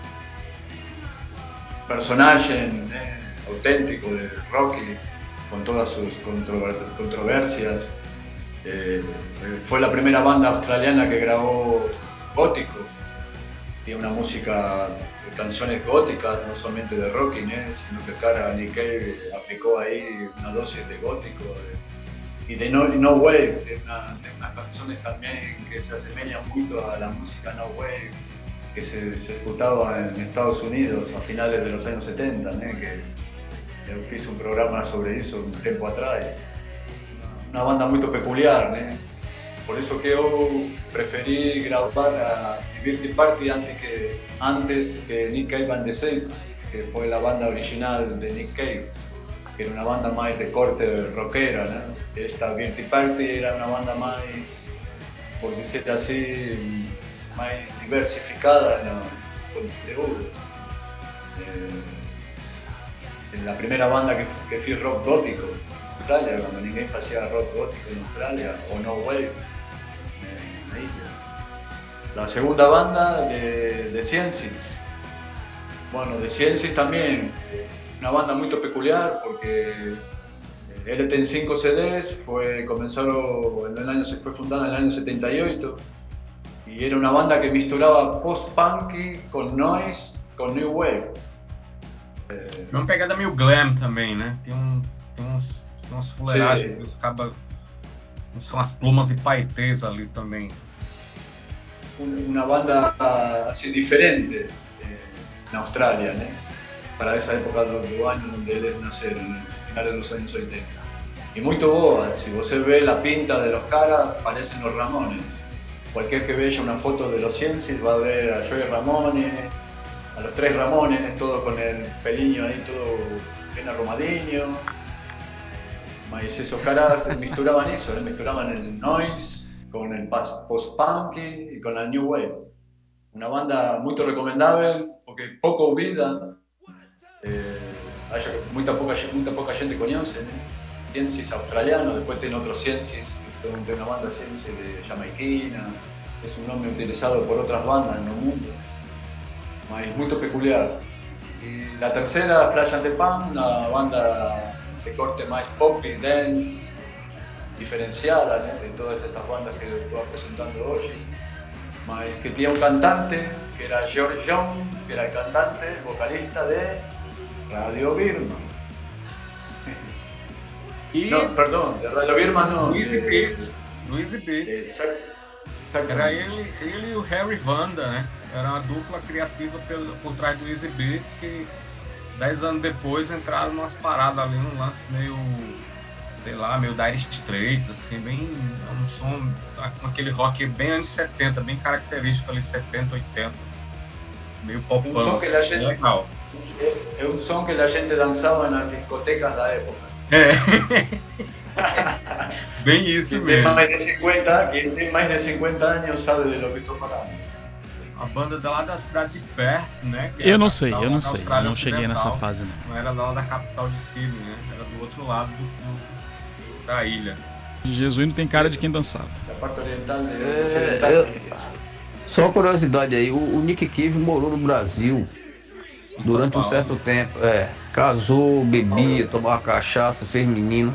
S2: personaje eh, auténtico de Rocky, con todas sus controver controversias. Eh, fue la primera banda australiana que grabó gótico. Tiene una música de canciones góticas, no solamente de Rocky, ¿eh? Sino que cara Nick Cave aplicó ahí una dosis de gótico de, y de no, no wave, de, una, de unas canciones también que se asemejan mucho a la música no wave que se, se ejecutaba en Estados Unidos a finales de los años setenta, ¿eh? Que, que hizo un programa sobre eso un tiempo atrás. Una banda muy peculiar, ¿eh? Por eso que yo preferí grabar a Birthday Party antes que, antes que Nick Cave and the Saints, que fue la banda original de Nick Cave, que era una banda más de corte rockera, ¿no? Esta Birthday Party era una banda más, por decirlo así, más diversificada en el contenido. Eh, la primera banda que, que fui rock gótico en Australia, cuando ninguém hacía rock gótico en Australia, o no wave. La segunda banda de, de Sciences. Bueno, de Sciences también, una banda muy peculiar porque L T en cinco C Ds, fue, comenzó en el año, fue fundada en el año setenta y ocho y era una banda que misturaba post-punky con noise, con new wave.
S3: É uma pegada meio glam também, né? Tem, um, tem umas, umas fuleiragens, os cabas, são as plumas e paetês ali também.
S2: Una banda así diferente eh, en Australia, ¿no? Para esa época de los años donde ellos nacieron, en finales de los años ochenta. Y muy boa, si vos ve la pinta de los caras, parecen los Ramones. Cualquier que vea una foto de los Sciences va a ver a Joey Ramone, a los tres Ramones, todo con el peliño ahí, todo bien arrumadinho. Mas esos caras misturaban eso, ¿eh? Misturaban el noise con el post-punk y con la new wave. Una banda muy recomendable porque poco oída, eh, hay muy poca, muy poca gente conoce, ¿eh? Sciences australiano, después tiene otros Sciences, tiene una banda Sciences de jamaiquina, es un nombre utilizado por otras bandas en el mundo, es muy peculiar. Y la tercera, Flash and the Pan, una banda de corte más pop y dance, diferenciada, ¿no? De todas estas bandas que estoy presentando hoy, mas que tenía un cantante que era George Young, que era el cantante, el vocalista de Radio Birman.
S3: E
S2: no, perdón, de Radio Birman no.
S3: Louise
S2: de,
S3: Beats, Louise Beats. Era ele, ele e o Harry Vanda, né? Era uma dupla criativa pelo, por trás do Easy Beats que dez anos depois entraram numas paradas ali, num lance meio, sei lá, meio Dire Straits, assim, bem, um som, com aquele rock bem anos setenta, bem característico ali, setenta, oitenta, meio pop-punk,
S2: um som que a gente,
S3: legal.
S2: É um som que a gente dançava nas discotecas da época.
S3: É, bem isso
S2: quem
S3: mesmo.
S2: Tem mais de cinquenta, quem tem mais de cinquenta anos sabe de lo que estou falando.
S3: A banda é lá da cidade de Perth, né?
S1: Eu não sei, eu não sei, eu não cheguei nessa fase não.
S3: Não era lá da capital de Sydney, né? Era do outro lado do, do, da ilha.
S1: Jesuíno tem cara de quem dançava.
S2: Da parte oriental de
S4: É, eu- Só uma curiosidade aí, o, o Nick Cave morou no Brasil
S3: Em
S4: durante
S3: São
S4: um
S3: Paulo.
S4: certo tempo. É, casou, bebia, tomava cachaça, fez menino.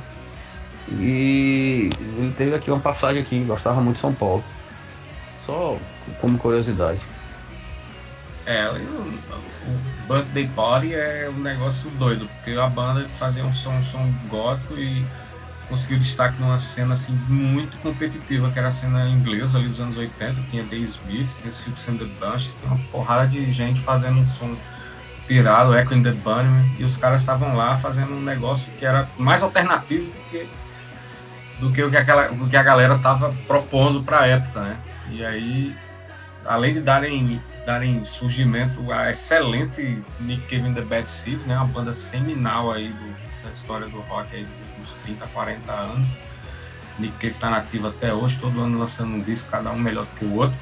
S4: E ele teve aqui uma passagem aqui, gostava muito de São Paulo. Só como curiosidade.
S3: É, e o, o Birthday Party é um negócio doido, porque a banda fazia um som, um som gótico e conseguiu destaque numa cena assim muito competitiva, que era a cena inglesa ali dos anos oitenta, tinha The Smiths, tinha Silks and the Bunches, tinha uma porrada de gente fazendo um som pirado, Echo and the Bunnymen, e os caras estavam lá fazendo um negócio que era mais alternativo do que do que o que, aquela, o que a galera tava propondo para a época, né? E aí, além de darem, darem surgimento a excelente Nick Cave and the Bad Seeds, né? Uma banda seminal aí do, da história do rock aí dos últimos trinta, quarenta anos. Nick Cave está nativo até hoje, todo ano lançando um disco, cada um melhor do que o outro.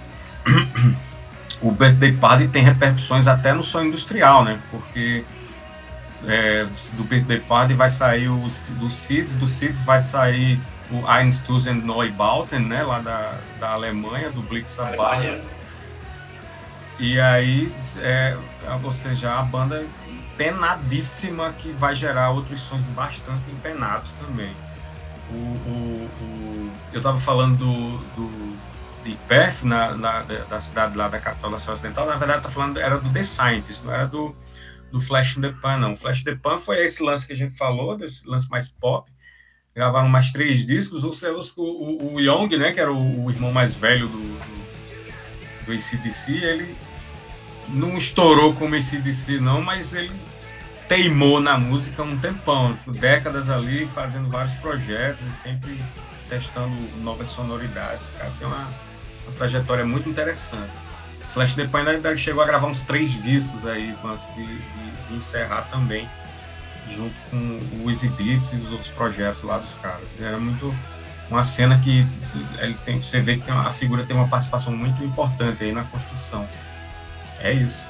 S3: O Birthday Party tem repercussões até no som industrial, né? Porque é, do Birthday Party vai sair o, do Seeds, do Seeds vai sair o Einstürzend Neubauten, né? Lá da, da Alemanha, do Blitzabaya. E aí, é, ou seja, a banda penadíssima que vai gerar outros sons bastante empenados também. O, o, o, eu estava falando do, do, de Perth, na, na, da cidade lá da capital da Sul Ocidental, na verdade tá falando, era do The Scientist, não era do, do Flash in the Pan, não. O Flash in the Pan foi esse lance que a gente falou, desse lance mais pop, gravaram mais três discos, o, o, o Young, né, que era o, o irmão mais velho do, do, do A C D C, ele não estourou como A C D C não, mas ele teimou na música um tempão, décadas ali, fazendo vários projetos e sempre testando novas sonoridades. O cara tem uma, uma trajetória muito interessante. Flash the Pan ainda chegou a gravar uns três discos aí antes de, de, de encerrar também, junto com o Easy Beats e os outros projetos lá dos caras. Era muito uma cena que ele tem, você vê que tem uma, a figura tem uma participação muito importante aí na construção. É isso.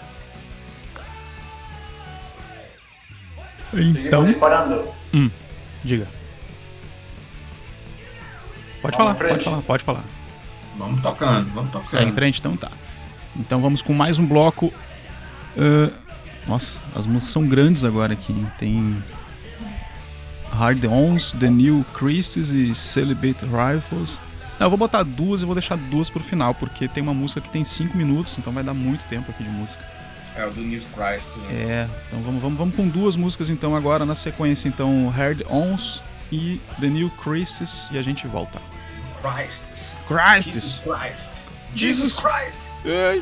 S1: Então,
S2: disparando.
S1: hum, diga. Pode
S2: Vamos
S1: falar,
S2: em frente.
S1: pode falar, pode falar.
S3: Vamos tocando, vamos tocando.
S1: Segue em frente, então tá. Então vamos com mais um bloco. Uh, nossa, as músicas são grandes agora aqui. Tem Hard Ons, The New Christies e Celibate Rifles. Não, eu vou botar duas e vou deixar duas pro final, porque tem uma música que tem cinco minutos, então vai dar muito tempo aqui de música.
S3: É o do New Christ. Né?
S1: É, então vamos, vamos, vamos com duas músicas então agora na sequência, então Hard Ons e The New Christies, e a gente volta.
S3: Christ.
S1: Christies!
S3: Jesus Christ. Jesus Christ.
S1: Ei.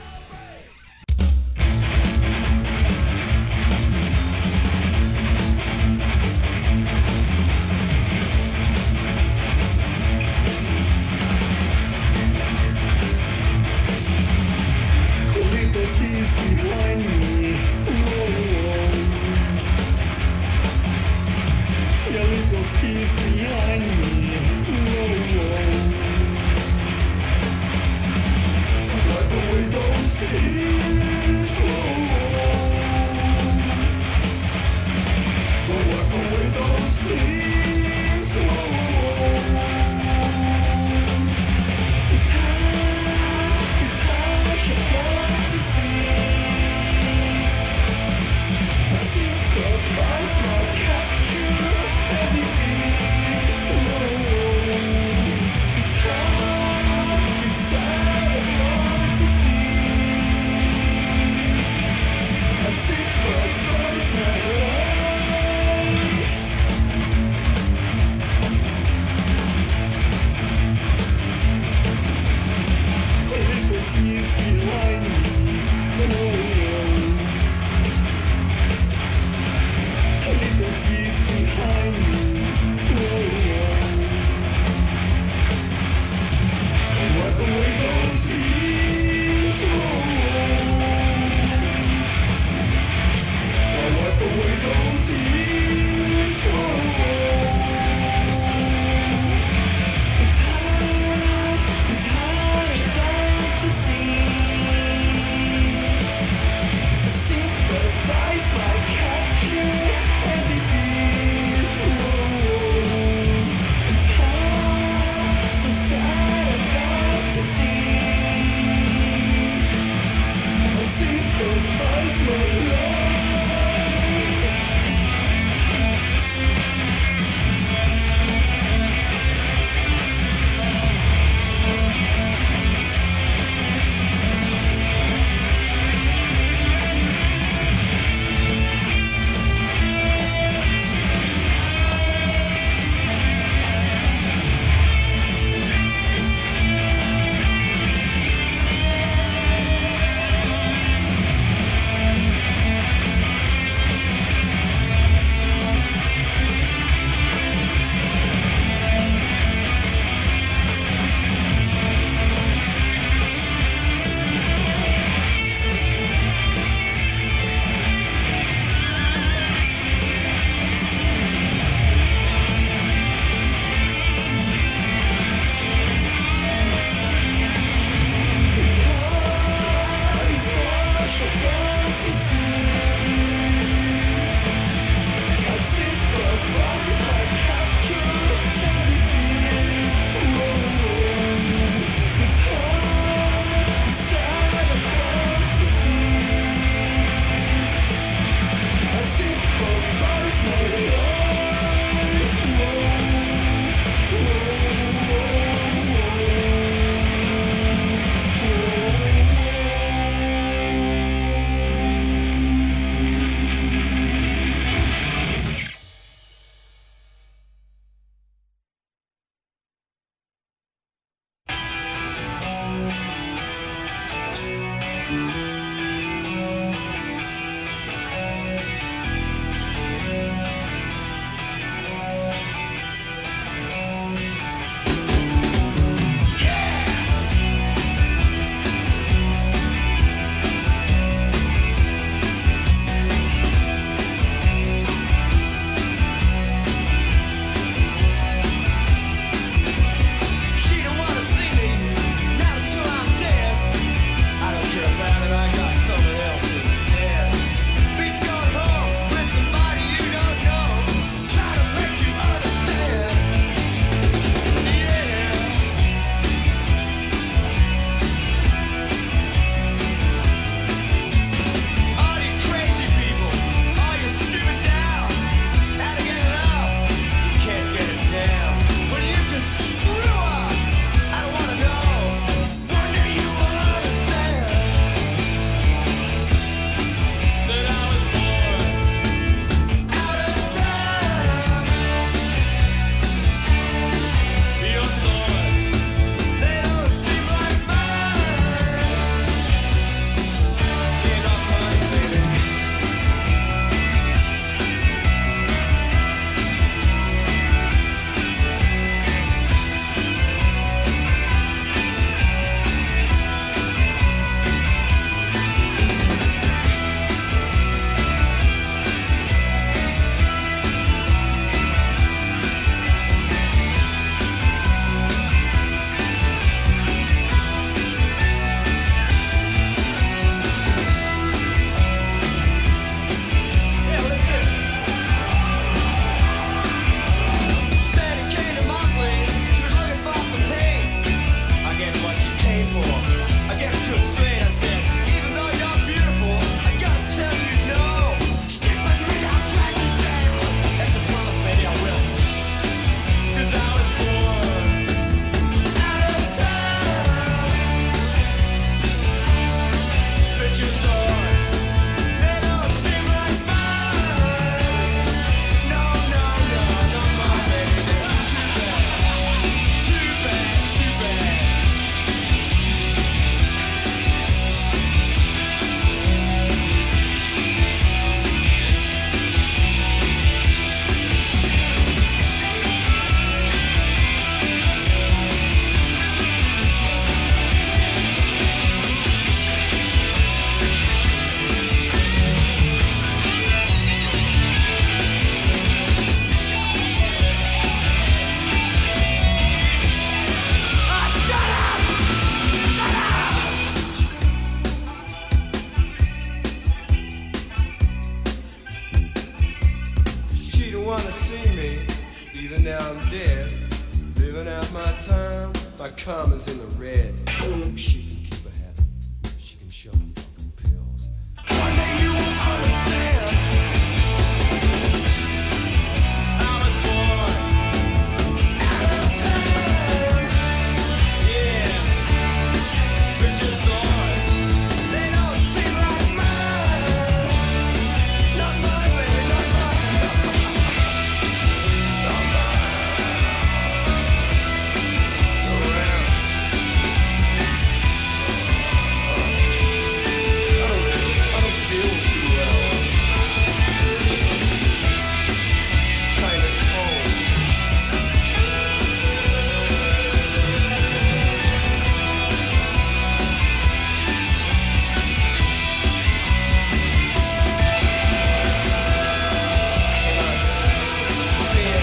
S5: Little seas behind me, whoa. Your little seas behind me, whoa. Wipe away those tears, whoa. Wipe away those tears, whoa. It's hard, it's harsh, I've got to see. I sacrifice my capture and defeat. Whoa. It's hard, it's sad, I've got to see. I sacrifice my life. wanna see me, even now I'm dead, living out my time, my karma's in the red. She can keep her happy, she can shove her fucking pills. One day you won't understand. I was born out of time. Yeah, but your thoughts, they don't seem like mine. Not mine, baby, not mine. Not mine. Go around. I don't, I don't feel too well. Kinda cold. And I spin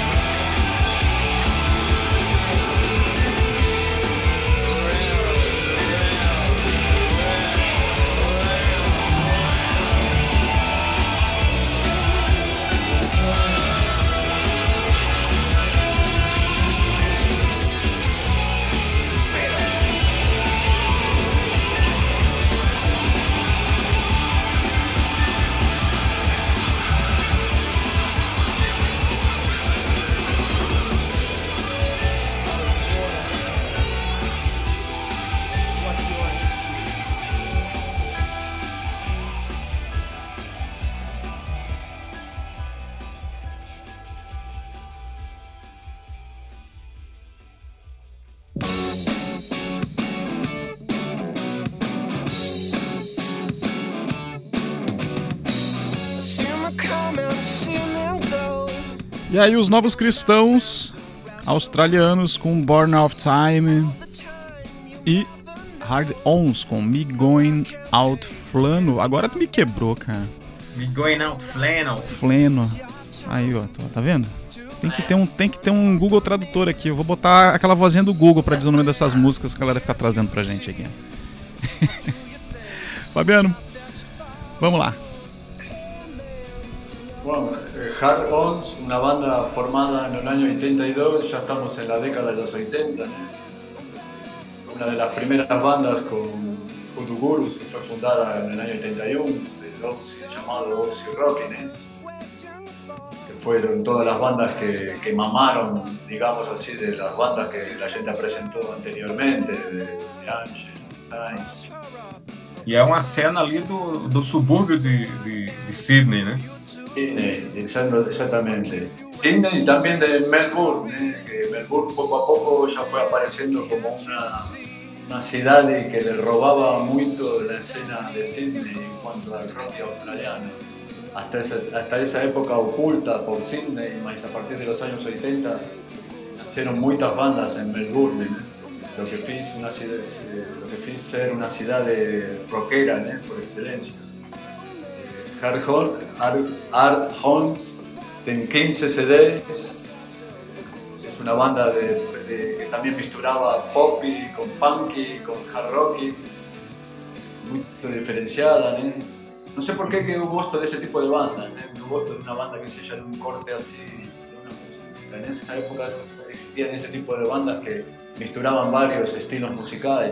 S5: What's your excuse? See me come, see me go.
S1: E aí os novos cristãos australianos com Born of Time e Hard Ons com Me Going Out Flano. Agora tu me quebrou, cara.
S3: Me going out flannel.
S1: Flano. Aí, ó, tá, tá vendo? Tem que ter um, tem que ter um Google Tradutor aqui. Eu vou botar aquela vozinha do Google pra dizer o nome dessas músicas que a galera fica trazendo pra gente aqui. Fabiano, vamos lá.
S2: Bueno, eh, Hard Ons, una banda formada en el año ochenta y dos, ya estamos en la década de los ochenta, ¿no? Una de las primeras bandas con Utugurus, que fue fundada en el año ochenta y uno, del Oxy, llamado Oxy Rockin', ¿eh? Que fueron todas las bandas que, que mamaron, digamos así, de las bandas que la gente presentó anteriormente, de, de Angel, Times.
S3: E é uma cena ali do, do subúrbio de, de, de Sydney, né?
S2: Sydney, exacto- exactamente. Sydney y también de Melbourne, ¿eh? Que Melbourne poco a poco ya fue apareciendo como una, una ciudad que le robaba mucho la escena de Sydney en cuanto al rock australiano. Hasta esa, hasta esa época oculta por Sydney, más a partir de los años ochenta, nacieron muchas bandas en Melbourne, ¿eh? Lo que fiz una ciudad, eh, lo que fiz ser una ciudad de rockera, ¿eh? Por excelencia. Hard Horn, Hard, Hard Horns, en quince C Ds, es una banda de, de- que también misturaba poppy con punky, con hard rocky, muy diferenciada, ¿eh? No sé por qué que hubo gusto de ese tipo de bandas, ¿eh? Hubo gusto de una banda que se llama un corte así, de una música. En esa época existían ese tipo de bandas que misturaban varios estilos musicales,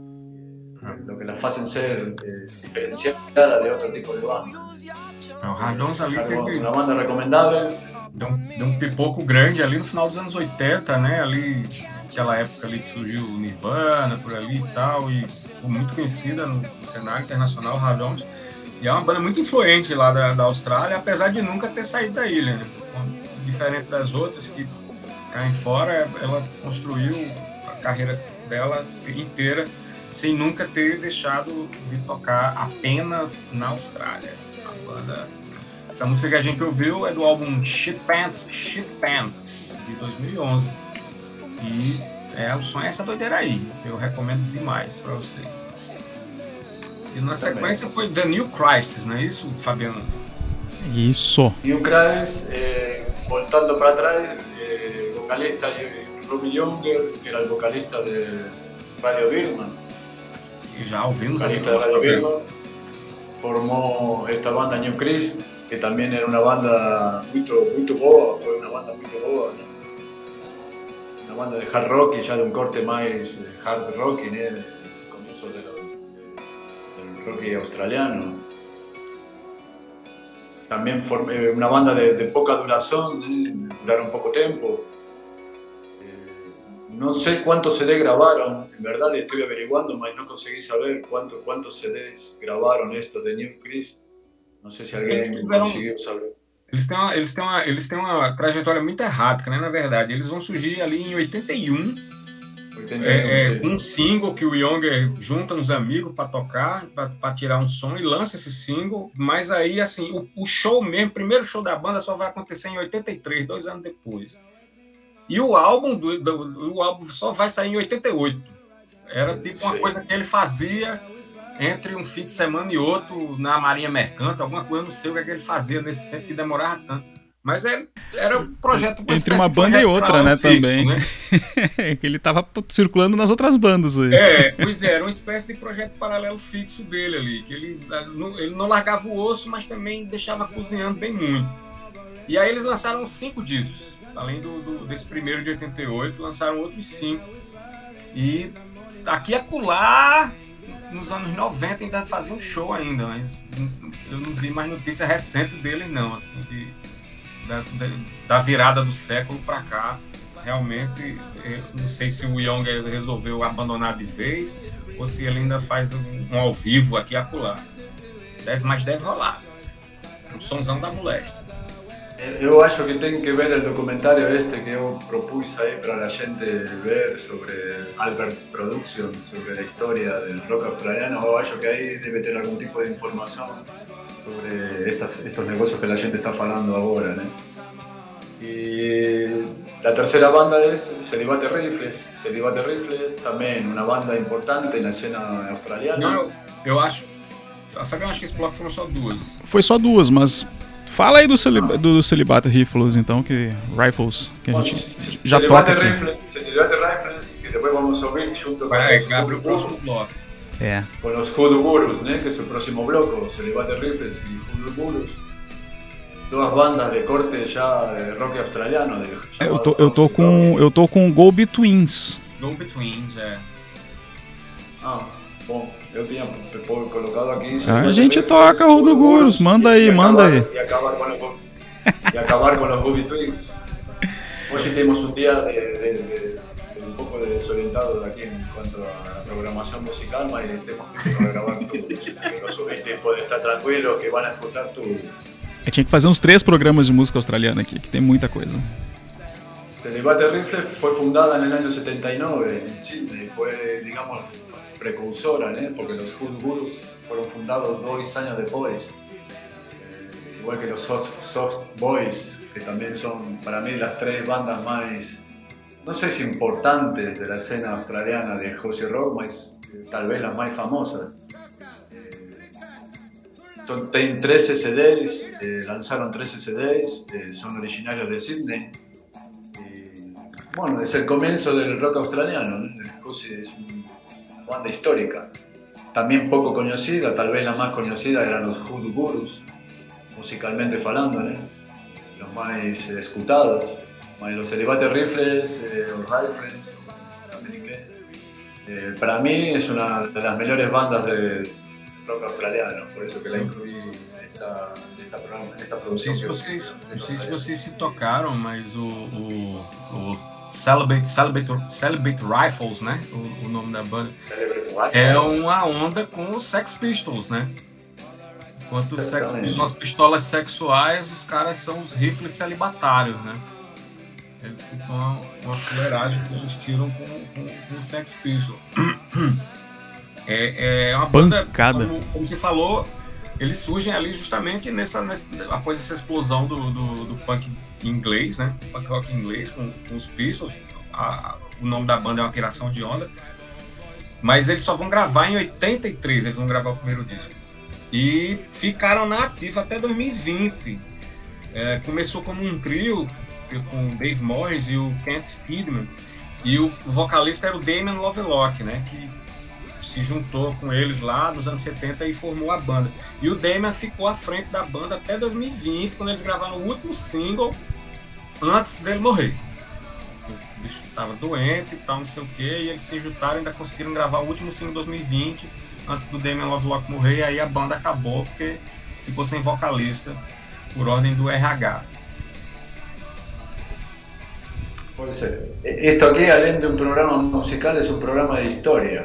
S2: lo que las hacen ser eh, diferenciadas de otro tipo de bandas.
S3: O Hard Ons ali
S2: Hard Ons,
S3: teve,
S2: uma banda recomendável.
S3: deu, um, deu um pipoco grande ali no final dos anos oitenta, né? Ali, aquela época ali que surgiu o Nirvana, por ali e tal, e ficou muito conhecida no cenário internacional, Hard Ons. E é uma banda muito influente lá da, da Austrália, apesar de nunca ter saído da ilha, né? Diferente das outras que caem fora, ela construiu a carreira dela inteira sem nunca ter deixado de tocar apenas na Austrália. A banda, essa música que a gente ouviu é do álbum Shit Pants, Shit Pants, de dois mil e onze. E é, o som é essa doideira aí. Eu recomendo demais para vocês. E na sequência foi The New Crisis, não é isso, Fabiano?
S1: Isso.
S2: New Crisis, eh, voltando para atrás, eh, vocalista Ruby Younger, que era el vocalista de Radio Birman,
S3: E já ouvimos aí.
S2: vocalista de Radio Birman, formó esta banda New Crisis, que también era una banda muy, muy boa, fue una banda muy boa, ¿no? Una banda de hard rock y ya de un corte más hard rock, ¿no? El comienzo de lo, del rock australiano. También formé una banda de, de poca duración, ¿eh? Duraron poco tiempo. No sé cuántos C D grabaron, en verdad le estoy averiguando, mas no conseguí saber cuánto, cuántos C Ds gravaram esto de New Christ. Não sei se alguém
S3: tiveram,
S2: conseguiu saber.
S3: Eles têm, uma, eles, têm uma, eles têm uma trajetória muito errática, né? Na verdade, eles vão surgir ali em oitenta e um,
S2: oitenta e um
S3: é, é, com um single que o Younger junta uns amigos para tocar, para tirar um som e lança esse single. Mas aí, assim, o, o show mesmo, o primeiro show da banda só vai acontecer em oitenta e três, dois anos depois. E o álbum, do, do, o álbum só vai sair em oitenta e oito. Era tipo uma coisa que ele fazia entre um fim de semana e outro na Marinha Mercante, alguma coisa, não sei o que, é que ele fazia nesse tempo que demorava tanto. Mas é, era um projeto... Uma
S1: entre uma banda e outra, né, fixo, também. Né? Ele tava circulando nas outras bandas aí.
S3: É, pois é, era uma espécie de projeto paralelo fixo dele ali, que ele, ele não largava o osso, mas também deixava cozinhando bem muito. E aí eles lançaram cinco discos. Além do, do, desse primeiro de oitenta e oito, lançaram outros cinco. E aqui e acolá, nos anos noventa, ainda fazia um show ainda, mas eu não vi mais notícia recente dele, não. Assim, de, da, da virada do século para cá, realmente, não sei se o Young resolveu abandonar de vez ou se ele ainda faz um, um ao vivo aqui e acolá. Deve, mas deve rolar. Um sonzão da moléstia.
S2: Eu acho que tem que ver o documentário este que eu propus aí para a gente ver sobre Albert's Productions, sobre a história do rock australiano. Eu acho que aí deve ter algum tipo de informação sobre estas, estes negócios que a gente está falando agora, né? E a terceira banda é Celibato Rifles. Celibato Rifles também uma banda importante na cena australiana.
S3: Não, eu acho... A Fabião, acho que esse bloco foram só duas.
S1: Foi só duas, mas... Fala aí do, celib- do Celibato Rifles, então, que Rifles, que a gente Bom, já toca aqui.
S2: Rifles, Celibato Rifles, que depois vamos ouvir junto
S3: Vai,
S2: com
S3: abre o próximo bloco.
S1: É.
S2: Com os Hoodoo Gurus, né, que é o próximo bloco, Celibato Rifles e Hoodoo Gurus. Duas bandas de corte já de rock australiano. De,
S1: é, eu, tô, eu, tô com, eu tô com Go Betweens.
S3: Go Betweens, é.
S2: Ah, bom. Eu tinha colocado aqui...
S1: A gente toca o do Gurus, manda aí, manda aí.
S2: E acabar com os, e acabar com os Go Betweens. Hoje temos um dia de, de, de, de um pouco desorientado aqui quanto à programação musical, mas temos que gravar tudo. Que os ouvintes podem estar tranquilos, que vão escutar tudo.
S1: Eu tinha que fazer uns três programas de música australiana aqui, que tem muita coisa.
S2: Celibato Rifles foi fundada no ano setenta e nove em Sydney, foi, digamos... precursora, ¿eh? Porque los Hoodoo Gurus fueron fundados dos años después, eh, igual que los Soft, Soft Boys, que también son para mí las tres bandas más, no sé si importantes de la escena australiana de Aussie Rock, mas eh, tal vez las más famosas. Eh, son, tienen trece C Ds, eh, lanzaron trece C Ds, eh, son originarios de Sydney. Y, bueno, es el comienzo del rock australiano, ¿no? Aussie es un, banda histórica, también poco conocida, tal vez la más conocida eran los Hoodoo Gurus, musicalmente falando, ¿eh? Los más eh, escutados, más los Celibato Rifles, eh, los Rifles, eh, para mí es una de las mejores bandas de rock australiano, por eso que la incluí en esta, en esta, programa, en esta producción.
S3: Não sei se vocês, não sei se vocês se tocaram, mas o, o, o Celibate, Celibate, Celibate Rifles, né? O, o nome da banda. É uma onda com os Sex Pistols, né? Enquanto os Sex Pistols são as pistolas sexuais, os caras são os rifles celibatários, né? Eles ficam uma, uma fuleiragem que eles tiram com, com, com os Sex Pistols. É, é uma banda, como, como você falou, eles surgem ali justamente nessa, nessa, após essa explosão do, do, do punk inglês, né? Punk rock inglês com, com os Pistols. A, o nome da banda é uma criação de onda. Mas eles só vão gravar em oitenta e três, eles vão gravar o primeiro disco. E ficaram na ativa até dois mil e vinte. É, começou como um trio com o Dave Morris e o Kent Steedman. E o vocalista era o Damien Lovelock, né? Que se juntou com eles lá nos anos setenta e formou a banda. E o Damian ficou à frente da banda até dois mil e vinte, quando eles gravaram o último single antes dele morrer. O bicho estava doente e tal, não sei o que, e eles se juntaram e ainda conseguiram gravar o último single em dois mil e vinte, antes do Damian Lovelock morrer, e aí a banda acabou porque ficou sem vocalista por ordem do R H.
S2: Puede ser. Esto aquí, além de un programa musical, es un programa de historia.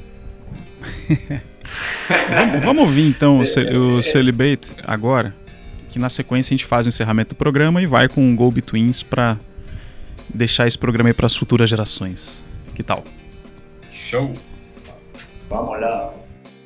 S1: vamos, vamos ouvir então o, ce- o Celibate agora, que na sequência a gente faz o encerramento do programa e vai com o Go Betweens pra deixar esse programa aí pras futuras gerações. Que tal?
S3: Show!
S2: Vamos lá.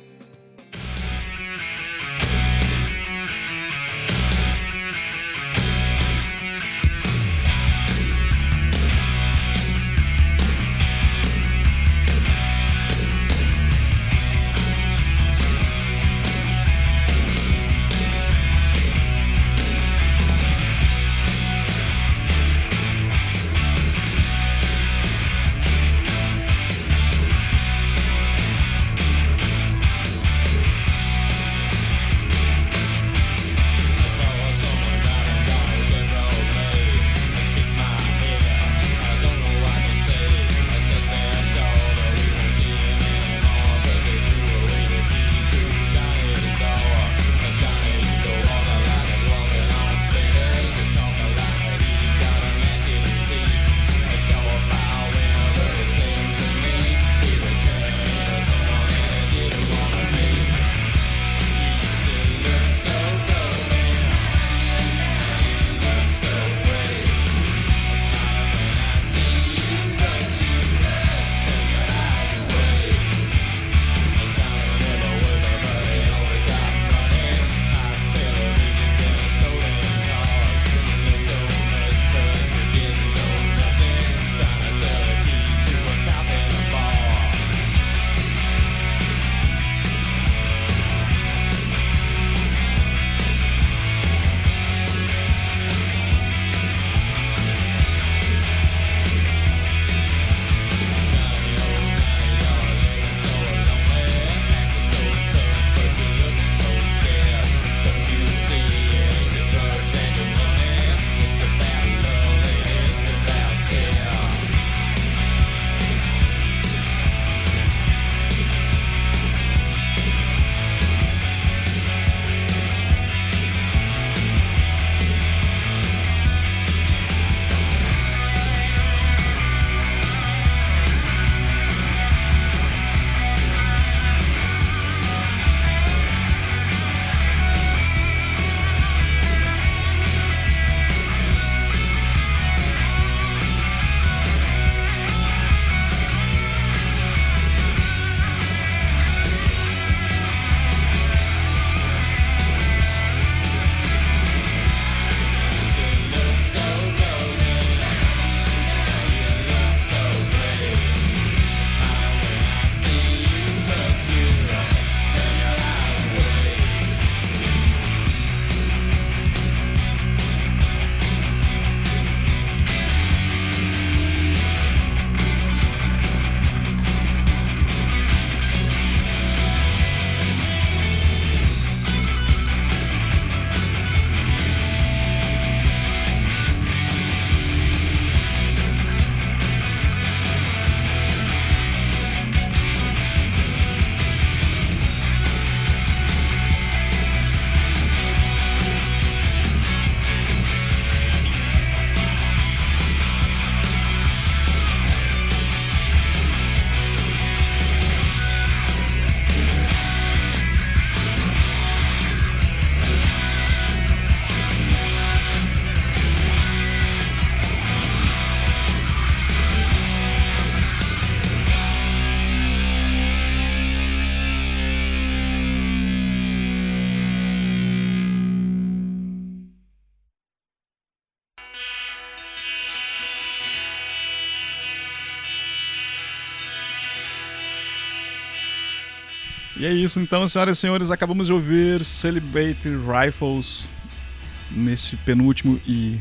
S1: E é isso então, senhoras e senhores, acabamos de ouvir Celibate Rifles nesse penúltimo e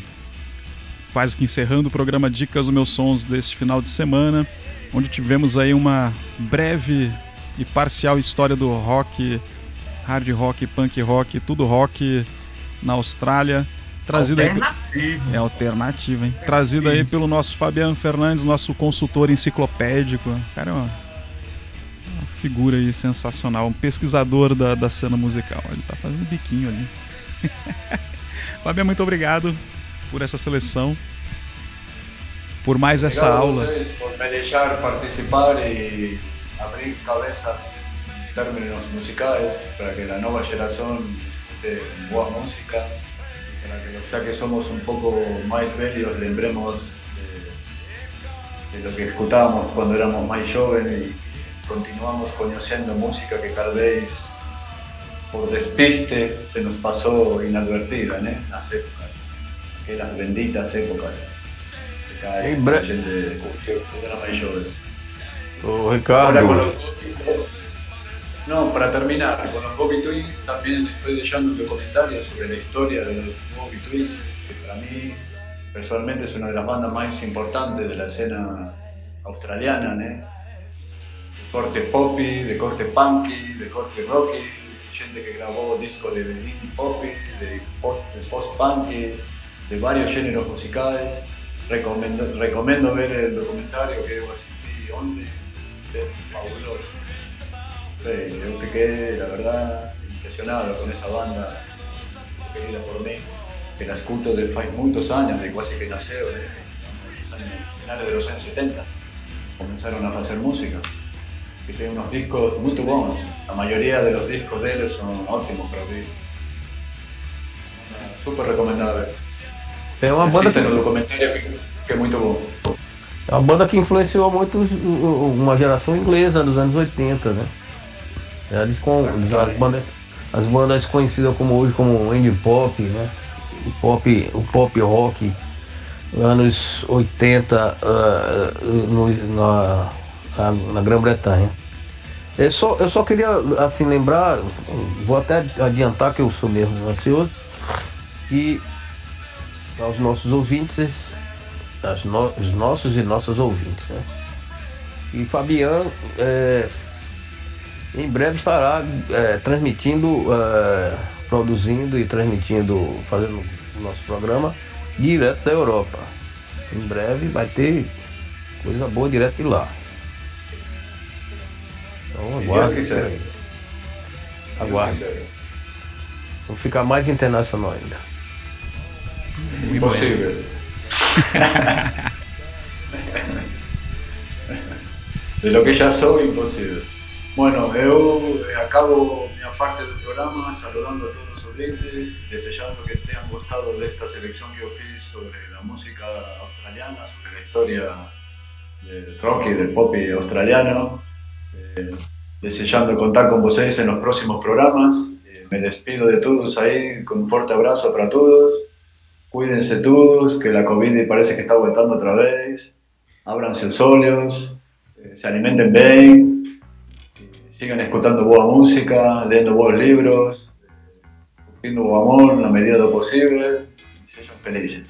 S1: quase que encerrando o programa Dicas dos Meus Sons deste final de semana, onde tivemos aí uma breve e parcial história do rock, hard rock, punk rock, tudo rock na Austrália. Trazido
S3: alternativo.
S1: Aí, é alternativo, hein? Trazido aí pelo nosso Fabiano Fernandes, nosso consultor enciclopédico. Cara, é uma, uma figura aí sensacional, um pesquisador da, da cena musical. Ele tá fazendo biquinho ali. Fabiano, muito obrigado por essa seleção, por mais
S2: Obrigado
S1: essa
S2: a
S1: aula.
S2: vocês por me deixar participar e abrir cabeça em términos musicais para que a nova geração escute boa música. Para que, ya que somos un poco más velhos, lembremos de, de lo que escutábamos cuando éramos más jóvenes y continuamos conociendo música que tal vez por despiste se nos pasó inadvertida, ¿no? Las épocas, aquellas benditas épocas que cada vez
S4: Em bre-
S2: a gente curtiu cuando era más joven.
S4: Ô,
S2: Ahora
S4: Ricardo,
S2: con los No, para terminar, con los Bobby Twins también estoy dejando un comentario sobre la historia de los Bobby Twins, que para mí personalmente es una de las bandas más importantes de la escena australiana, ¿no? De corte poppy, de corte punky, de corte rocky, gente que grabó discos de indie poppy, de post, de post-punky, de varios géneros musicales. Recomiendo, recomiendo ver el documentario que asistí onde, es fabuloso. Sí, yo te quedé, la verdad, impresionado con esa banda querida por mí, que la escuto desde hace muchos años, de casi que nació, ¿eh? Finales de los años setenta, comenzaron a hacer música, que tiene unos discos muy buenos, la mayoría de los discos de ellos son ótimos para mí. Súper recomendable.
S4: é uma banda que,
S2: Existe no documentário que, que é muito bom.
S4: é uma banda que influenciou muito os- o- uma geração inglesa dos anos oitenta, né? Eles com as bandas, as bandas conhecidas como hoje como indie pop, né? O pop, o pop rock, anos oitenta, ah, no- na, na, na Grã-Bretanha. Eu só, eu só queria assim lembrar, vou até adiantar que eu sou mesmo ansioso, que aos nossos ouvintes, as no, os nossos e nossas ouvintes, né? E Fabiano é, em breve estará é, transmitindo, é, produzindo e transmitindo, fazendo o nosso programa direto da Europa. Em breve vai ter coisa boa direto de lá. Então aguarde.
S2: Deus quiser.
S4: Aguarde. Vamos ficar mais internacional ainda.
S2: Imposible. De lo que ya soy, imposible. Bueno, eu acabo minha parte do programa saludando a todos os ouvintes, desejando que tenham gostado desta seleção que eu fiz sobre a música australiana, sobre a história del rock y del pop australiano. Eh, desejando contar con vocês en los próximos programas. Eh, me despido de todos ahí, con un fuerte abrazo para todos. Cuídense todos, que la COVID parece que está voltando otra vez. Ábranse los olhos, eh, se alimenten bien, eh, sigan escuchando boa música, leyendo buenos libros, eh, curtindo o amor na medida do posible y sean felices.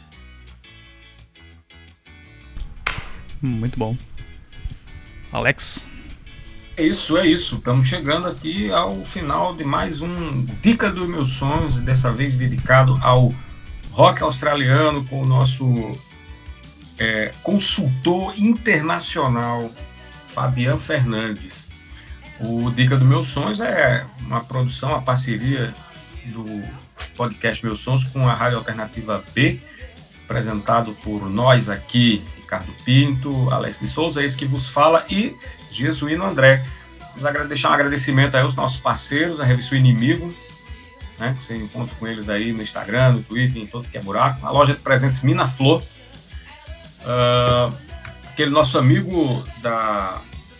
S1: Muito bom. Alex?
S3: É isso, é isso. Estamos chegando aqui ao final de mais um Dica dos Meus Sonhos, dessa vez dedicado ao rock australiano com o nosso é, consultor internacional, Fabiano Fernandes. O Dica dos Meus Sonhos é uma produção, uma parceria do podcast Meus Sonhos com a Rádio Alternativa B, apresentado por nós aqui, Ricardo Pinto, Alex de Souza, esse que vos fala, e Jesuíno André. Vamos deixar um agradecimento aí aos nossos parceiros, a Revista O Inimigo, né, que você encontra com eles aí no Instagram, no Twitter, em todo que é buraco. A loja de presentes Mina Flor. Uh, aquele nosso amigo da,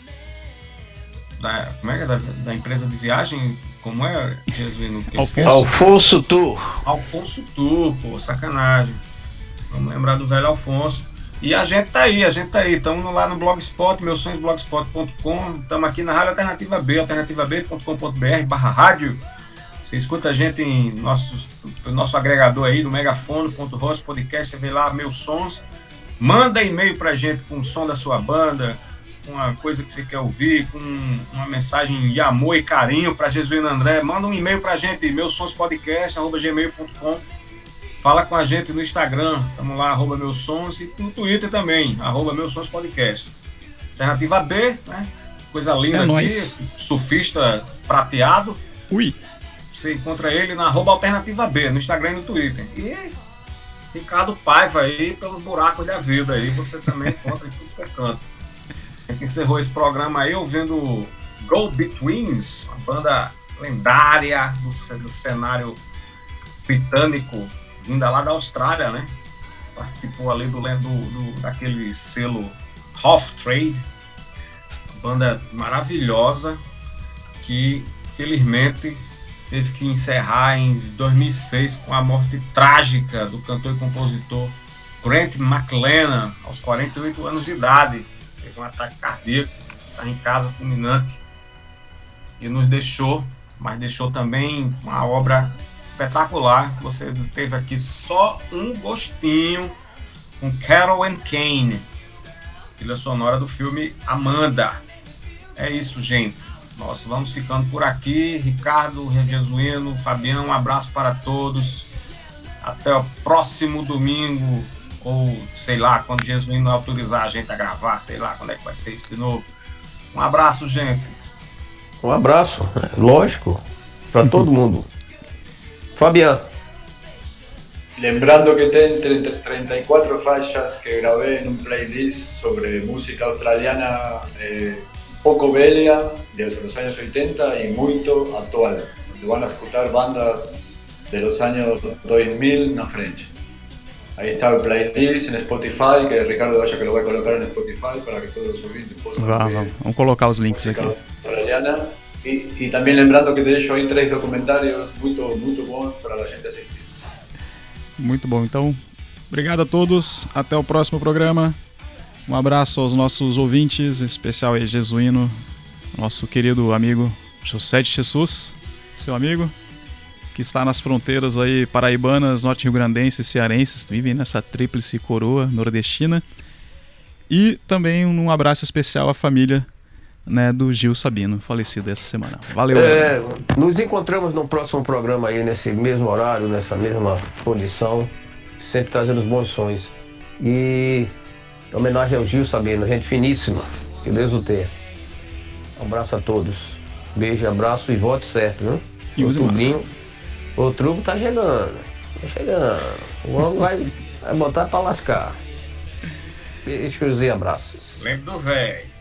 S3: da, como é, que é? da, da empresa de viagem, como é, Jesuíno?
S1: Alfonso.
S4: Alfonso Tu.
S3: Alfonso Tu, pô, sacanagem. Vamos lembrar do velho Alfonso. E a gente tá aí, a gente tá aí. Estamos lá no Blogspot, meus sonhos blogspot ponto com. Estamos aqui na Rádio Alternativa B, alternativa b ponto com ponto b r barra rádio. Você escuta a gente em nossos, nosso agregador aí, no megafone ponto host podcast, você vê lá meus sons. Manda e-mail pra gente com o som da sua banda, com uma coisa que você quer ouvir, com uma mensagem de amor e carinho para Jesuíno André, manda um e-mail para a gente, meusonspodcast arroba gmail ponto com. Fala com a gente no Instagram, estamos lá, arroba meusons, e no Twitter também, arroba meusonspodcast. Alternativa B, né? Coisa linda
S1: É
S3: aqui,
S1: nóis.
S3: surfista prateado.
S1: Ui.
S3: Você encontra ele na arroba Alternativa B, no Instagram e no Twitter. E Ricardo Paiva aí, pelos buracos da vida aí, você também encontra em tudo que é canto. A gente encerrou esse programa aí ouvindo Go Betweens, uma banda lendária do, do cenário britânico, vinda lá da Austrália, né? Participou ali do, do, do daquele selo Half Trade, banda maravilhosa que felizmente teve que encerrar em dois mil e seis com a morte trágica do cantor e compositor Grant McLennan, aos quarenta e oito anos de idade. Teve um ataque cardíaco, está em casa fulminante e nos deixou, mas deixou também uma obra espetacular. Você teve aqui só um gostinho com Carol and Kane, trilha sonora do filme Amanda. É isso, gente. Nós vamos ficando por aqui. Ricardo, Jesuíno, Fabião, um abraço para todos. Até o próximo domingo, ou sei lá, quando Jesuíno autorizar a gente a gravar, sei lá quando é que vai ser isso de novo. Um abraço, gente.
S4: Um abraço, lógico, para todo mundo. Fabiano.
S2: Lembrando que tem treinta y cuatro faixas que grabé en un playlist sobre música australiana eh, poco velha, de los años ochenta y muito actual, donde van a escuchar bandas de los años dos mil na frente. Ahí está el playlist en Spotify, que Ricardo vaya que lo voy a colocar en Spotify para que todos los oyentes puedan
S1: Vá,
S2: ver
S1: vamos, vamos colocar os links
S2: música
S1: aqui.
S2: australiana. Y, y también lembrando que de hecho hay tres documentarios muy, muy buenos para la gente asistir.
S1: Muito bom. Então, obrigado a todos. Até o próximo programa. Um abraço aos nossos ouvintes, em especial aí Jesuíno, nosso querido amigo José de Jesus, seu amigo, que está nas fronteiras aí paraibanas, norte-rio-grandenses e cearenses, vivem nessa tríplice coroa nordestina. E também um abraço especial à família, né, do Gil Sabino, falecido essa semana. Valeu,
S4: É, nos encontramos no próximo programa aí, nesse mesmo horário, nessa mesma condição, sempre trazendo os bons sonhos. E em homenagem ao Gil Sabino, gente finíssima, que Deus o tenha. Um abraço a todos. Beijo, abraço e voto certo, viu?
S1: E use máscara.
S4: O truco tá chegando, tá chegando. O homem vai, vai botar pra lascar. Beijos e abraços.
S3: Lembro do velho.